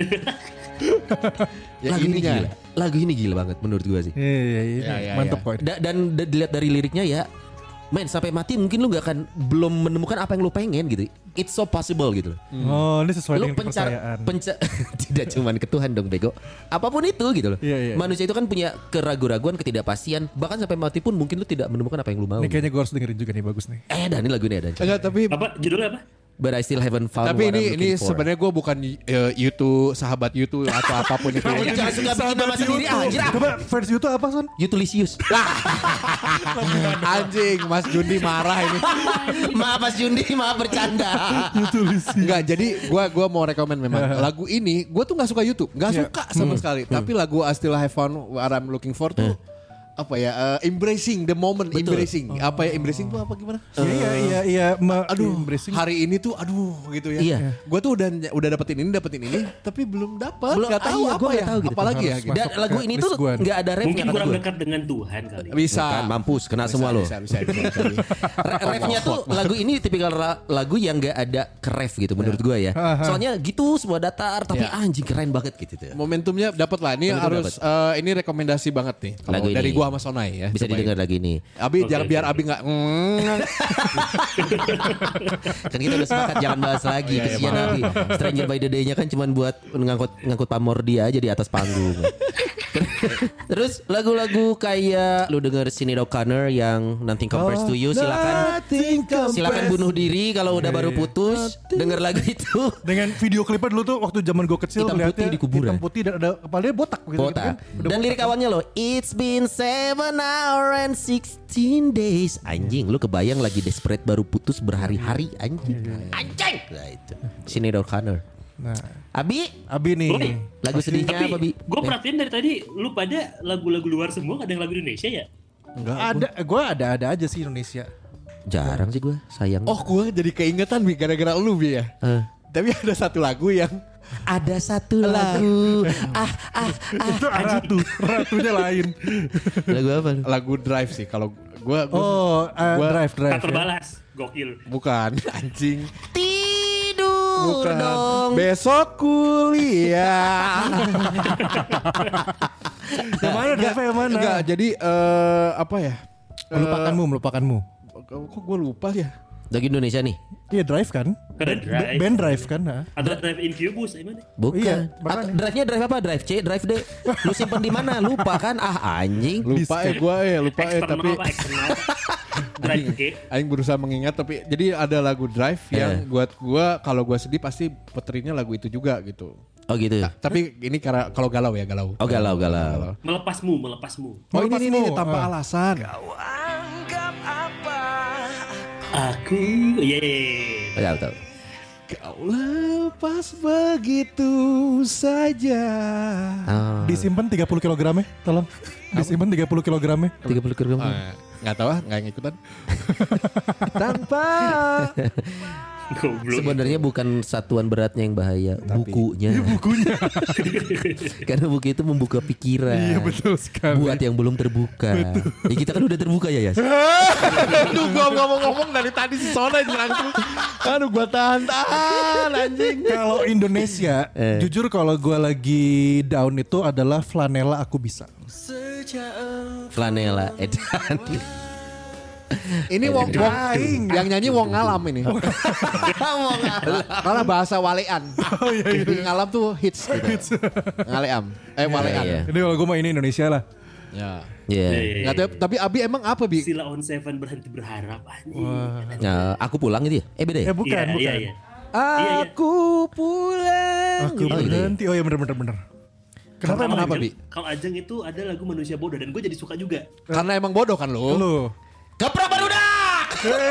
Ya, lagu ini ininya. gila. Lagu ini gila banget menurut gua sih. Iya, iya, iya. Ya, ya, Mantep ya. kok. Da- dan da- dilihat dari liriknya ya Men sampai mati mungkin lu gak akan belum menemukan apa yang lu pengen gitu. It's so possible gitu. Oh, ini sesuai Lu dengan pencar, kepercayaan. penca, tidak cuman ke Tuhan dong bego. Apapun itu gitu loh. Iya, iya. Manusia itu kan punya keraguan-raguan, ketidakpastian. Bahkan sampai mati pun mungkin lu tidak menemukan apa yang lu mau. Ini kayaknya gue harus dengerin juga nih, bagus nih. Eh dan ini lagu ini ada. Enggak, tapi Apa judulnya apa? But I still haven't found tapi what ini I'm ini looking for. sebenarnya gue bukan uh, YouTube sahabat YouTube atau apapun itu. Kamu jangan suka bikin nama sendiri anjir. Coba fans itu apa, Son? Yutulisius. Anjing, Mas Jundi marah ini. Maaf Mas Jundi, maaf bercanda. Enggak, jadi gue gua mau rekomen memang lagu ini. Gue tuh nggak suka YouTube, nggak Iya. suka sama sekali. Tapi lagu I Still Have Found What I'm Looking For tuh apa ya? uh, embracing the moment, Betul. embracing. Apa ya embracing tuh apa gimana? Iya, iya, iya. Ma- Aduh, embracing. hari ini tuh aduh gitu ya. Iya. Gue tuh udah udah dapetin ini, dapetin ini, tapi belum dapat. Belum, Gak tahu ah, iya, apa gua ya. nggak tahu gitu. Apalagi ya. Harus Gitu. Dan Masuk lagu ke ini list tuh gua. nggak ada refnya Mungkin kata kurang gue. dekat dengan Tuhan kali. Bisa. Bukan, mampus, kena Bisa, semua lo. Bisa, bisa, bisa, bisa, bisa. Re- refnya tuh lagu ini tipikal ra- lagu yang nggak ada ke ref gitu menurut gue ya. Soalnya gitu semua datar tapi Ya. anjing keren banget gitu tuh. Momentumnya dapat lah. Ini Momentum harus eh, ini rekomendasi banget nih. Kalau Lagu dari ini. gua sama Sonai ya. Bisa Cobain. didengar lagi nih. Abi Oke, jangan oke. biar Abi nggak. Mm, Kan kita udah sepakat jangan bahas lagi Iya, iya, kesian maaf, Abi. Stranger by the Day-nya kan cuman buat ngangkut ngangkut pamor dia aja di atas panggung. Terus lagu-lagu kayak lu denger Sinead O'Connor yang Nothing Compares to You silakan silakan bunuh diri kalau udah baru putus denger lagu itu. Dengan video klipnya dulu tuh waktu zaman gue kecil Hitam ngeliatnya putih di kuburan. hitam putih dan ada kepalanya botak gitu, gitu Botak. kan. Udah Dan botak. lirik awalnya loh, It's been seven hour and sixteen days. Anjing, lu kebayang lagi desperate baru putus berhari-hari anjing. Anjing. Nah itu. Sinead O'Connor. Nah, Abi, Abi nih. Boleh. lagu sedihnya Tapi apa Bi? gue perhatiin dari tadi lu pada lagu-lagu luar semua, ada yang lagu Indonesia ya? Ada, gue ada-ada aja sih Indonesia. Jarang sih gue, sayang. Oh, gua jadi keingetan Bi gara-gara lu Bi ya. Eh. Tapi ada satu lagu yang Ada satu lagu. ah, ah, ah. Itu ratu, ratunya lain. Lagu apa? lagu Drive sih kalau gua, gua Oh, uh, Gua- drive, drive. Tak ya. terbalas, gokil. bukan anjing. Tidur Bukan. dong. Besok kuliah. Yang mana drive yang mana? Enggak, jadi eh, apa ya? Melupakanmu, melupakanmu. Kok gue lupa ya? Lagu Indonesia nih? Iya drive kan? Ada Band- drive. Band drive kan? Nah. Atau drive Incubus, gimana? Bukan. Iya, Atau makanya. drive-nya drive apa? Drive C, drive D. Lu simpen di mana? Lupa kan? Ah anjing. Lupa ya gue ya, lupa ya Eksternal tapi apa? Eksternal. Drive K. Aing berusaha mengingat tapi jadi ada lagu Drive yang Eh. buat gua kalau gua sedih pasti puterinya lagu itu juga gitu. Oh gitu. Tapi ini karena kalau galau ya galau. Oh galau galau. Melepasmu, melepasmu. Oh ini, ini, ini Melepasmu. tanpa Ah. alasan. Aku, yeay. Oh, tahu tahu. Kau lepas begitu saja. Ah, Disimpan tiga puluh kilogramnya, tolong. Disimpan tiga puluh kilogramnya. tiga puluh kilogram. Eh, nggak tahu ah, nggak ngikutan. tanpa Goblok. Sebenarnya bukan satuan beratnya yang bahaya, bukunya. Bukunya. Karena buku itu membuka pikiran. Iya betul sekali. Buat yang belum terbuka. Ya kita kan udah terbuka ya, Yas. Aduh gua ngomong-ngomong dari tadi si Sona dirangkul. Aduh gua tahan-tahan anjing. Kalau Indonesia, Eh. jujur kalau gue lagi down itu adalah Flanela Aku Bisa. Flanela Edan. Ini Wong, Wong yang nyanyi Wong Ngalam ini. Karena bahasa Walean. Oh iya iya. Jadi Ngalam tuh hits gitu. Ngaleam. Eh Walean. iya. Ini kalau gue mau ini Indonesia lah. Ya. Iya. Nggak tahu, tapi Abi emang apa Bi? Sila on Seven berhenti berharap anjing. Nah, aku pulang gitu ya? Eh beda Eh ya? bukan, Iya, bukan. iya, iya. Aku pulang. Aku Oh, gitu ya? berhenti. Oh iya bener bener bener. Kenapa Kalau emang kenapa, Ajeng- Bi? Kalau Ajeng itu ada lagu Manusia Bodoh dan gue jadi suka juga. Karena emang bodoh kan lo. lu? Gaprak barudak!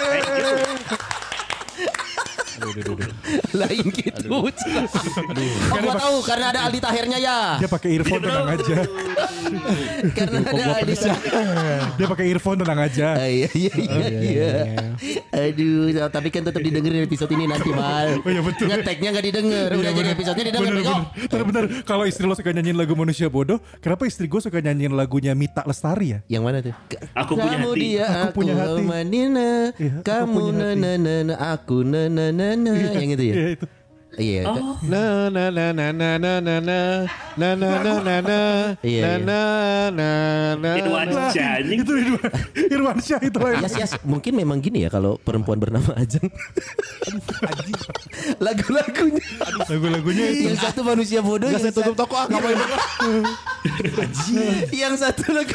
Lain gitu. Oh gua tahu karena ada Aldi Tahirnya ya. Dia pakai earphone tenang aja. Karena ada Aldi Tahir. Dia pakai earphone tenang aja. Ah, Iya iya iya iya. Aduh, tapi kan tetap didengerin episode ini nanti mal. Oh iya, betul. Ngeteknya nggak didengar, udah jadi episodenya didengar Bener bego. bener. Tapi bener. Kalau istri lo suka nyanyiin lagu Manusia Bodoh, kenapa istri gue suka nyanyiin lagunya Mita Lestari ya? Yang mana tuh? Aku punya Kamu hati. dia, Aku aku, punya hati. Manina, Iya, aku kamu punya na hati. na na na, aku na na na na, yang itu ya. Iya itu. Iya. Oh, Na na na na na na na na na na na na na Iya, na na na Irwan na. Syah anjing. Itu Irwan, Irwan Syah itu lah. Yas, Yas, mungkin memang gini ya kalau perempuan bernama Ajeng. Lagu-lagunya. Lagu-lagunya itu. Yang satu manusia bodoh. Gak saya yang tutup toko ah ngapain? satu- Yang satu lagu.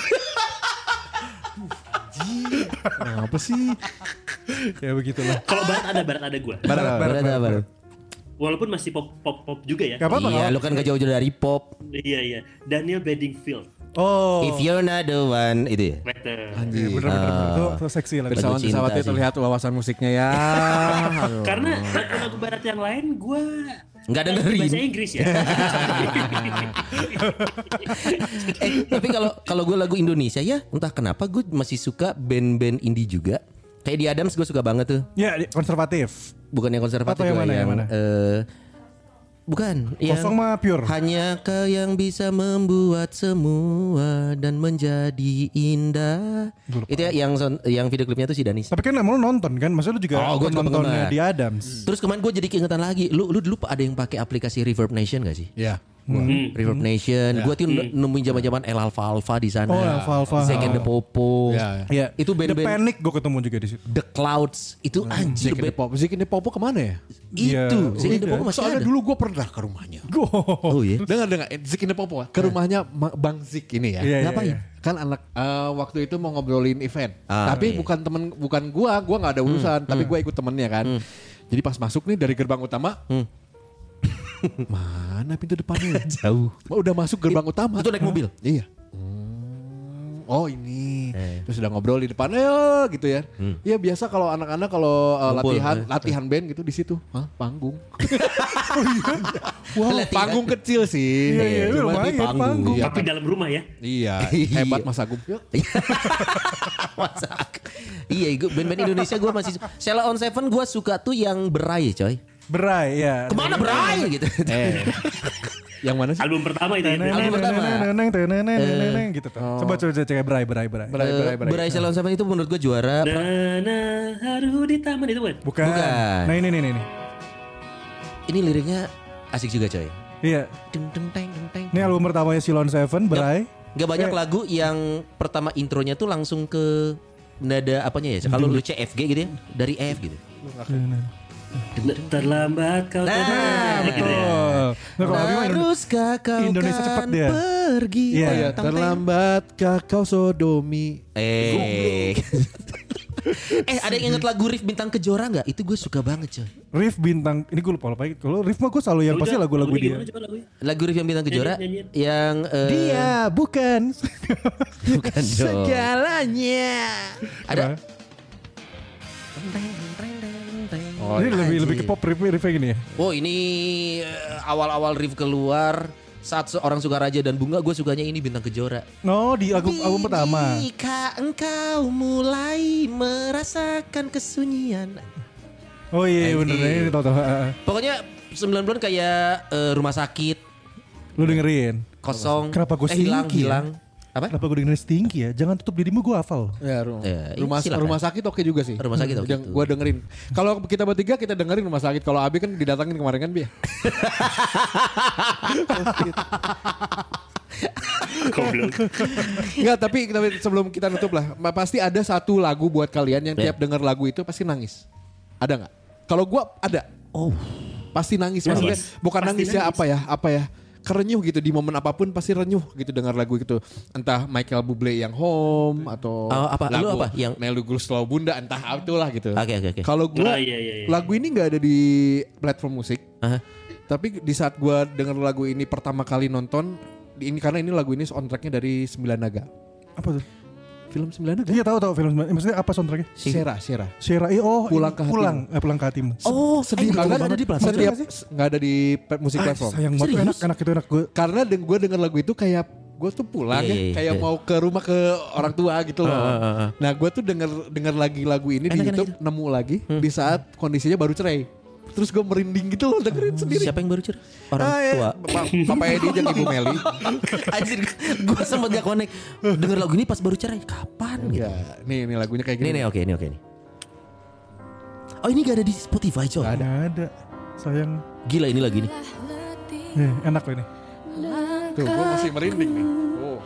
Apa sih? Ya begitulah. Kalau barat ada, barat ada gue. Barat, barat, Barat apa? Walaupun masih pop pop pop juga ya. Gak apa-apa. Iya, lu kan gak jauh-jauh dari pop. Iya iya. Daniel Bedingfield. Oh. If you're not the one, itu ya. Betul. Iya, bener-bener. Itu, itu seksi lah. Bersama- Pesawat cinta pesawatnya sih. terlihat wawasan musiknya ya. Aduh. Karena lagu-lagu barat yang lain gue Nggak dengerin. bahasa Inggris ya. Eh, tapi kalau kalau gue lagu Indonesia ya, entah kenapa gue masih suka band-band indie juga. Kayak di Adams gue suka banget tuh. Ya, konservatif. Bukan yang konservatif Atau yang gue, mana, yang mana? eh, bukan. Kosong mah pure. Hanya kau yang bisa membuat semua dan menjadi indah. Itu ya yang son- yang video klipnya tuh si Danis. Tapi kan emang lu nonton kan? Maksudnya lu juga Oh, gua juga nontonnya penggemar. di Adams. Terus kemarin gue jadi keingetan lagi. Lu lu dulu ada yang pakai aplikasi Reverb Nation gak sih? Ya. Hmm. Reverb Nation. Gue tuh nemuin zaman-zaman El Alfa Alfa di sana. Oh, Alfa Alfa. Zack and the Popo. Ya, ya. Iya. Itu The band-band Panic gue ketemu juga di situ. The Clouds. Itu anjir Zik ini band. pop, Zik ini Popo kemana ya? Iya, Itu Zack and the udah. Popo masih Soalnya ada. dulu gue pernah ke rumahnya. Oh iya. Dengar dengar Zik ini Popo ke rumahnya Ma- Bang Zik ini ya. Iya, iya, Ngapain? iya. Kan anak eh, waktu itu mau ngobrolin event. Ah, tapi iya. bukan temen bukan gua, gua nggak ada urusan, tapi gua ikut temennya kan. Jadi pas masuk nih dari gerbang utama. Hmm. Mana pintu depannya? Jauh. Oh, udah masuk gerbang utama. Itu naik mobil. Iya. Hmm, Oh ini, Eh. terus udah ngobrol di depan, ya gitu ya. Iya biasa kalau anak-anak kalau uh, Ngumpul, latihan eh. latihan band gitu di situ, Hah, panggung. Wow. Latihan. Panggung kecil sih. Iya, iya, Cuman- lumayan panggung. panggung. Iya, Tapi dalam rumah ya. Iya, Iya. hebat Mas Agung. Yuk. Masa? Iya, gua- band-band Indonesia gue masih suka. Sheila on Seven gue suka tuh yang berai coy. Berai ya. Kemana berai gitu. Eh, yang mana sih? Album pertama itu ya. Album pertama. Neneng, teneng, neneng, gitu tuh. Coba coba cek berai berai berai. Berai, berai, Eh, berai. Berai Sheila on Seven itu menurut gue juara. Dana haru di taman itu kan. Bukan. Bukan. Nah ini nih nih. nih. Ini liriknya asik juga coy. Iya. Deng, deng, deng, deng, deng. Ini album pertamanya Silon Seven, Berai. Gak banyak Eh. lagu yang pertama intronya tuh langsung ke nada apanya ya. Kalau lu C F G gitu ya, dari F gitu. Terlambat kau Nah, terbang. Gitu ya. Betul. Nah, kalau Abi mah Indonesia- Haruskah kau Indonesia kan cepet dia. pergi? Iya. Oh ya, Tang, tang. terlambatkah kau sodomi? Eh. eh ada yang inget lagu Riff Bintang Kejora nggak? Itu gue suka banget coy. Riff bintang, ini gue lupa lupa. Kalau Riff mah gue selalu yang pasti Udah, lagu-lagu lagunya dia. gimana coba lagunya? Lagu Riff yang Bintang Kejora Nyanyiin, yang eh, Dia bukan. bukan dong. Segalanya. Ada Oh, Ini lebih lebih ke pop riff riffnya gini ya. Oh ini eh, awal-awal Riff keluar saat seorang Sukaraja dan Bunga gue sukanya ini Bintang Kejora. No di album album pertama. Jika engkau mulai merasakan kesunyian. Oh iya Anjing. bener ini tau tau. Pokoknya sembilan bulan kayak eh, rumah sakit, Lu dengerin. kosong, Kenapa gua eh, hilang, stinky ya? hilang. Apa? Kenapa gue dengerin Stinky ya? Jangan tutup dirimu gue hafal. Ya, ru- Ya, rumah silakan. rumah sakit oke juga sih. Rumah sakit oke Yang tuh. gua dengerin. Kalau kita bertiga kita dengerin rumah sakit. Kalau Abi kan didatangin kemarin kan, Bi. Goblok. Enggak, tapi, tapi sebelum kita nutup lah, ma- pasti ada satu lagu buat kalian yang Ya. tiap denger lagu itu pasti nangis. Ada nggak? Kalau gua ada. Oh, Pasti nangis. Nangis. Maksudnya bukan Pasti nangis, ya nangis. apa ya? Apa ya? Kerenyuh gitu di momen apapun pasti renyuh gitu dengar lagu itu. Entah Michael Bublé yang Home atau Oh, apa? Lu lagu apa? Yang- Melu Guslau Bunda entah itulah gitu. Oke, oke, oke. Kalau gua Ah, iya, iya, iya. lagu ini nggak ada di platform musik. Aha. Tapi di saat gua denger lagu ini pertama kali nonton di- ini karena ini lagu ini soundtracknya dari Sembilan Naga. Apa tuh? Film Sembilan Naga. Iya tahu tahu film. Maksudnya apa soundtracknya? Sera, Sera. Shera, iya, oh Pulang ini, ke hatimu. pulang, eh, pulang ke hatimu. Oh, Sedih eh, banget. nggak ada di platform. Setiap Nggak nggak ada di pe- musik Ah, platform. sayang banget, Serius? enak, enak itu enak gue. Karena gue denger lagu itu kayak gue tuh pulang Iya, ya, iya, kayak iya. mau ke rumah ke orang tua gitu loh. Ah, ah, ah. Nah gue tuh denger denger lagi lagu ini di Enak, enak, YouTube, nemu lagi di saat kondisinya baru cerai. Terus gue merinding gitu loh dengerin sendiri. Siapa yang baru cerai? Orang Ah, ya. tua. Pa- Papa Edi dan Ibu Meli. Anjir, gue sempet gak connect. Denger lagu ini pas baru cerai. Kapan gitu? Ya, nih nih lagunya kayak Ini gini. nih, oke, ini oke nih. Oh, ini gak ada di Spotify, coy. Nggak ada. Nggak ada. Sayang. Gila ini lagi nih. Eh, enak loh ini. Tuh, gue masih merinding nih. Oh.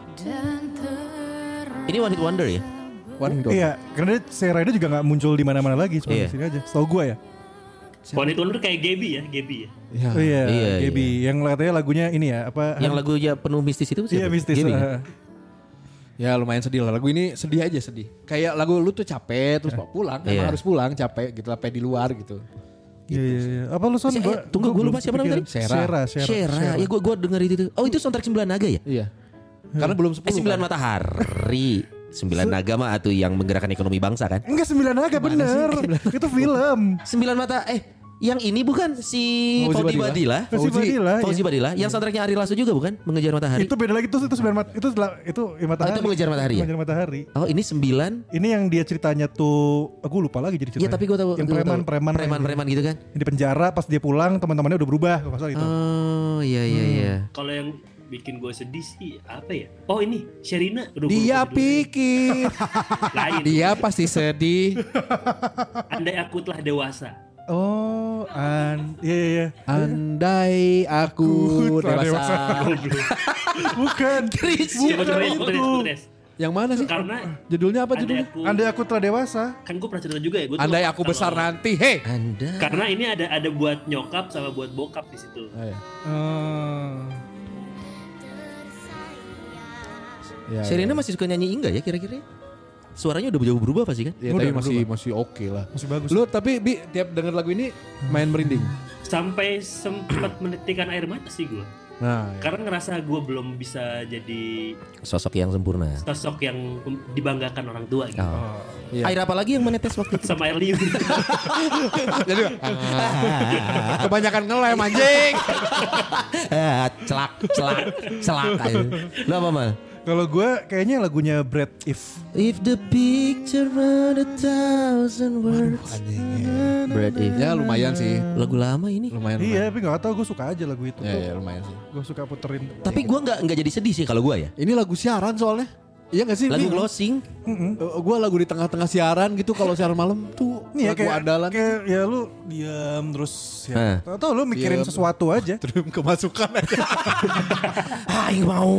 Ini One Hit Wonder ya? One Hit Wonder. Iya, karena dia Serena juga gak muncul di mana-mana lagi, cuma Iya. di sini aja. Setahu gue ya. One Hit Wonder kayak Gaby ya, Gaby ya. Iya. Oh iya, Iya, Gaby. Yang katanya lagunya ini ya, apa? Yang lagunya penuh mistis itu siapa? Iya, mistis. Gaby, kan? uh, Ya lumayan sedih lah. Lagu ini sedih aja sedih. Kayak lagu lu tuh capek terus mau pulang, emang Iya. harus pulang capek gitu, capek di luar gitu. Iya, iya, iya. Apa lu Son? Si- eh, Gua- tunggu, gua gua belum lupa siapa namanya kepikiran. tadi? Shera. Shera. Shera. Ya gue gue denger itu. Oh itu soundtrack Sembilan Naga ya? Iya. Karena belum Eh, sepuluh. Sembilan kan? Matahari. Sembilan Naga mah atuh yang menggerakkan ekonomi bangsa kan? Enggak Sembilan Naga bener. Itu film. Sembilan Mata eh yang ini bukan si Fauzi Fauzi Badila. Badila. Fauzi Badila. Fauzi iya. Badila yang soundtracknya Ari Lasso juga bukan? Mengejar Matahari. Itu beda lagi tuh itu Sembilan Mat itu setelah- itu ya, Matahari. Oh, itu Mengejar Matahari ya? Mengejar Matahari. Oh ini sembilan. Ini yang dia ceritanya tuh, aku lupa lagi jadi ceritanya. Iya tapi gue tahu. Yang gua tahu. preman-preman. Preman-preman gitu kan? Yang di penjara pas dia pulang teman-temannya udah berubah kalau nggak salah itu. Oh iya iya iya. Kalau yang bikin gue sedih sih apa ya? Oh ini Sherina. Aduh, gua Dia lupa judulnya. pikir Lain. dia pasti sedih. Andai aku telah dewasa. Oh, an, iya iya. iya. Andai aku Telah dewasa. Bukan. Chris. Coba coba ya, itu. coba tes, coba tes. Yang mana sih? Karena Judulnya apa andai judulnya? aku, Andai aku telah dewasa. kan gue pernah cerita juga ya. Gua tuh Andai aku kalau- besar nanti. Hei. Anda. Karena ini ada ada buat nyokap sama buat bokap di situ. Oh, iya. Hmm. Ya, Sherina masih suka nyanyi enggak ya kira-kira? Suaranya udah jauh berubah pasti kan? ya, Udah, tapi udah masih masih oke lah. Masih bagus. Lu tapi Bi tiap denger lagu ini main merinding. Sampai sempat menitikan air mata sih gue. Nah, ya. Karena ngerasa gue belum bisa jadi Sosok yang sempurna. sosok yang dibanggakan orang tua gitu. Oh. Iya. Air apa lagi yang menetes waktu itu? Sama air liur. Jadi kebanyakan ngelem anjing. Ah, celak, celak, celak. Lu apa mal? Kalau gue kayaknya lagunya Brad If. If the picture were a thousand words. Brad If. Ya lumayan sih. Lagu lama ini. Lumayan. Iya, tapi nggak tahu gue suka aja lagu itu. Ya, ya lumayan sih. Gue suka puterin. Tapi gua nggak nggak jadi sedih sih kalau gua ya. Ini lagu siaran soalnya. Iya gak sih? Lagu Bi? closing. Uh, gue lagu di tengah-tengah siaran gitu kalau siaran malam tuh Nih ya lagu kayak, andalan. kayak ya lu diam terus Hah. ya. Tahu lu mikirin Diam. sesuatu aja. Terus kemasukan aja. Aing mau.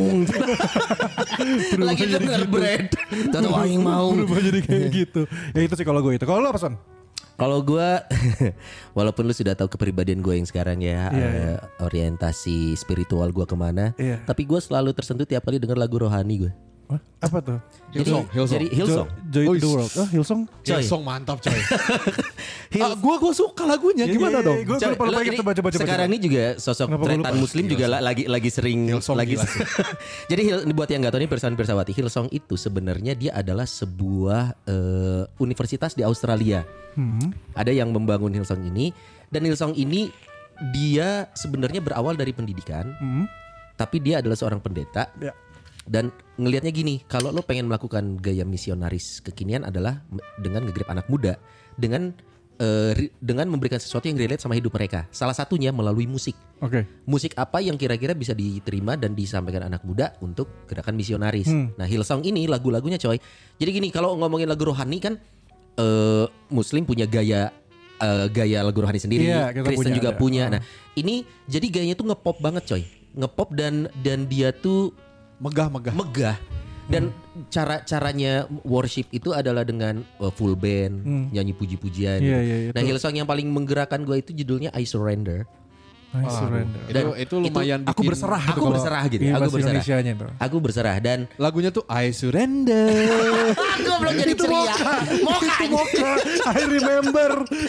Lagi denger Brad. Tahu aing mau. Berubah jadi kayak gitu. Ya itu sih kalau gue itu. Kalau lu apa Son? Kalau gue, walaupun lu sudah tahu kepribadian gue yang sekarang ya, Iya, eh, iya. orientasi spiritual gue kemana, Iya. tapi gue selalu tersentuh tiap kali denger lagu rohani gue. Hah? Apa tuh? Hillsong, Hillsong. Jadi Hillsong. Jo- Joy to Oh, the World. Oh, Hillsong. Coy. Hillsong mantap coy. Hill- ah, gue gue suka lagunya Iya, gimana iya, dong? iya, Gue Coy, lupa lupa lo ingat ini coba coba coba. sekarang ini juga sosok Kenapa gua tretan lupa? muslim juga la- lagi lagi sering Hillsong lagi gila sih. jadi Hill, buat yang nggak tahu nih pirsawan pirsawati, Hillsong itu sebenarnya dia adalah sebuah eh, universitas di Australia. Hmm. Ada yang membangun Hillsong ini, dan Hillsong ini dia sebenarnya berawal dari pendidikan, Hmm. tapi dia adalah seorang pendeta. Ya. Dan ngelihatnya gini, kalau lo pengen melakukan gaya misionaris kekinian adalah m- dengan ngegrip anak muda, dengan eh, ri- dengan memberikan sesuatu yang relate sama hidup mereka. Salah satunya melalui musik. Oke. Musik apa yang kira-kira bisa diterima dan disampaikan anak muda untuk gerakan misionaris. Hmm. Nah, Hillsong ini lagu-lagunya coy. Jadi gini, kalau ngomongin lagu rohani kan eh, Muslim punya gaya eh, gaya lagu rohani sendiri, Iya, kita Kristen punya, juga ada. punya. Hmm. Nah, ini jadi gayanya tuh ngepop banget coy. Ngepop dan dan dia tuh Megah-megah. megah dan cara caranya worship itu adalah dengan uh, full band, Hmm. nyanyi puji-pujian. Iya, gitu. iya, Nah, itu. Hillsong yang paling menggerakkan gue itu judulnya I Surrender. I Aduh, surrender. itu, Dan itu lumayan Aku bikin- berserah Aku gitu kalau- berserah gitu, Iya, aku bahasa berserah. Indonesianya itu. Aku berserah dan Lagunya tuh I surrender. aku belum jadi ceria. Moka. Moka, I remember.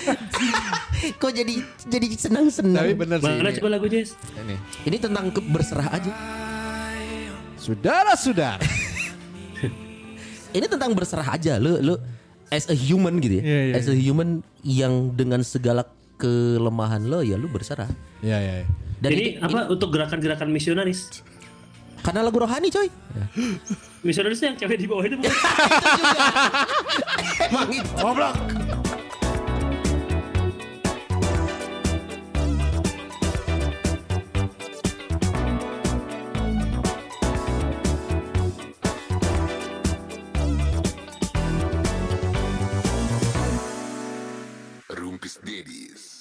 Kok jadi jadi senang-senang. Tapi bener sih. Mana ini. coba lagu Jess? Ini. Ini tentang ke- berserah aja. Saudara-saudara. Ini tentang berserah aja. Lu lu as a human gitu ya. Iya, iya, as a human yang dengan segala kelemahan lo ya lu berserah. Iya, iya. iya. Dan ini itu- apa untuk gerakan-gerakan misionaris? karena lagu rohani coy. Misionaris yang cewek di bawah itu bukan? Emang itu. Goblok. Rumpis Dedis.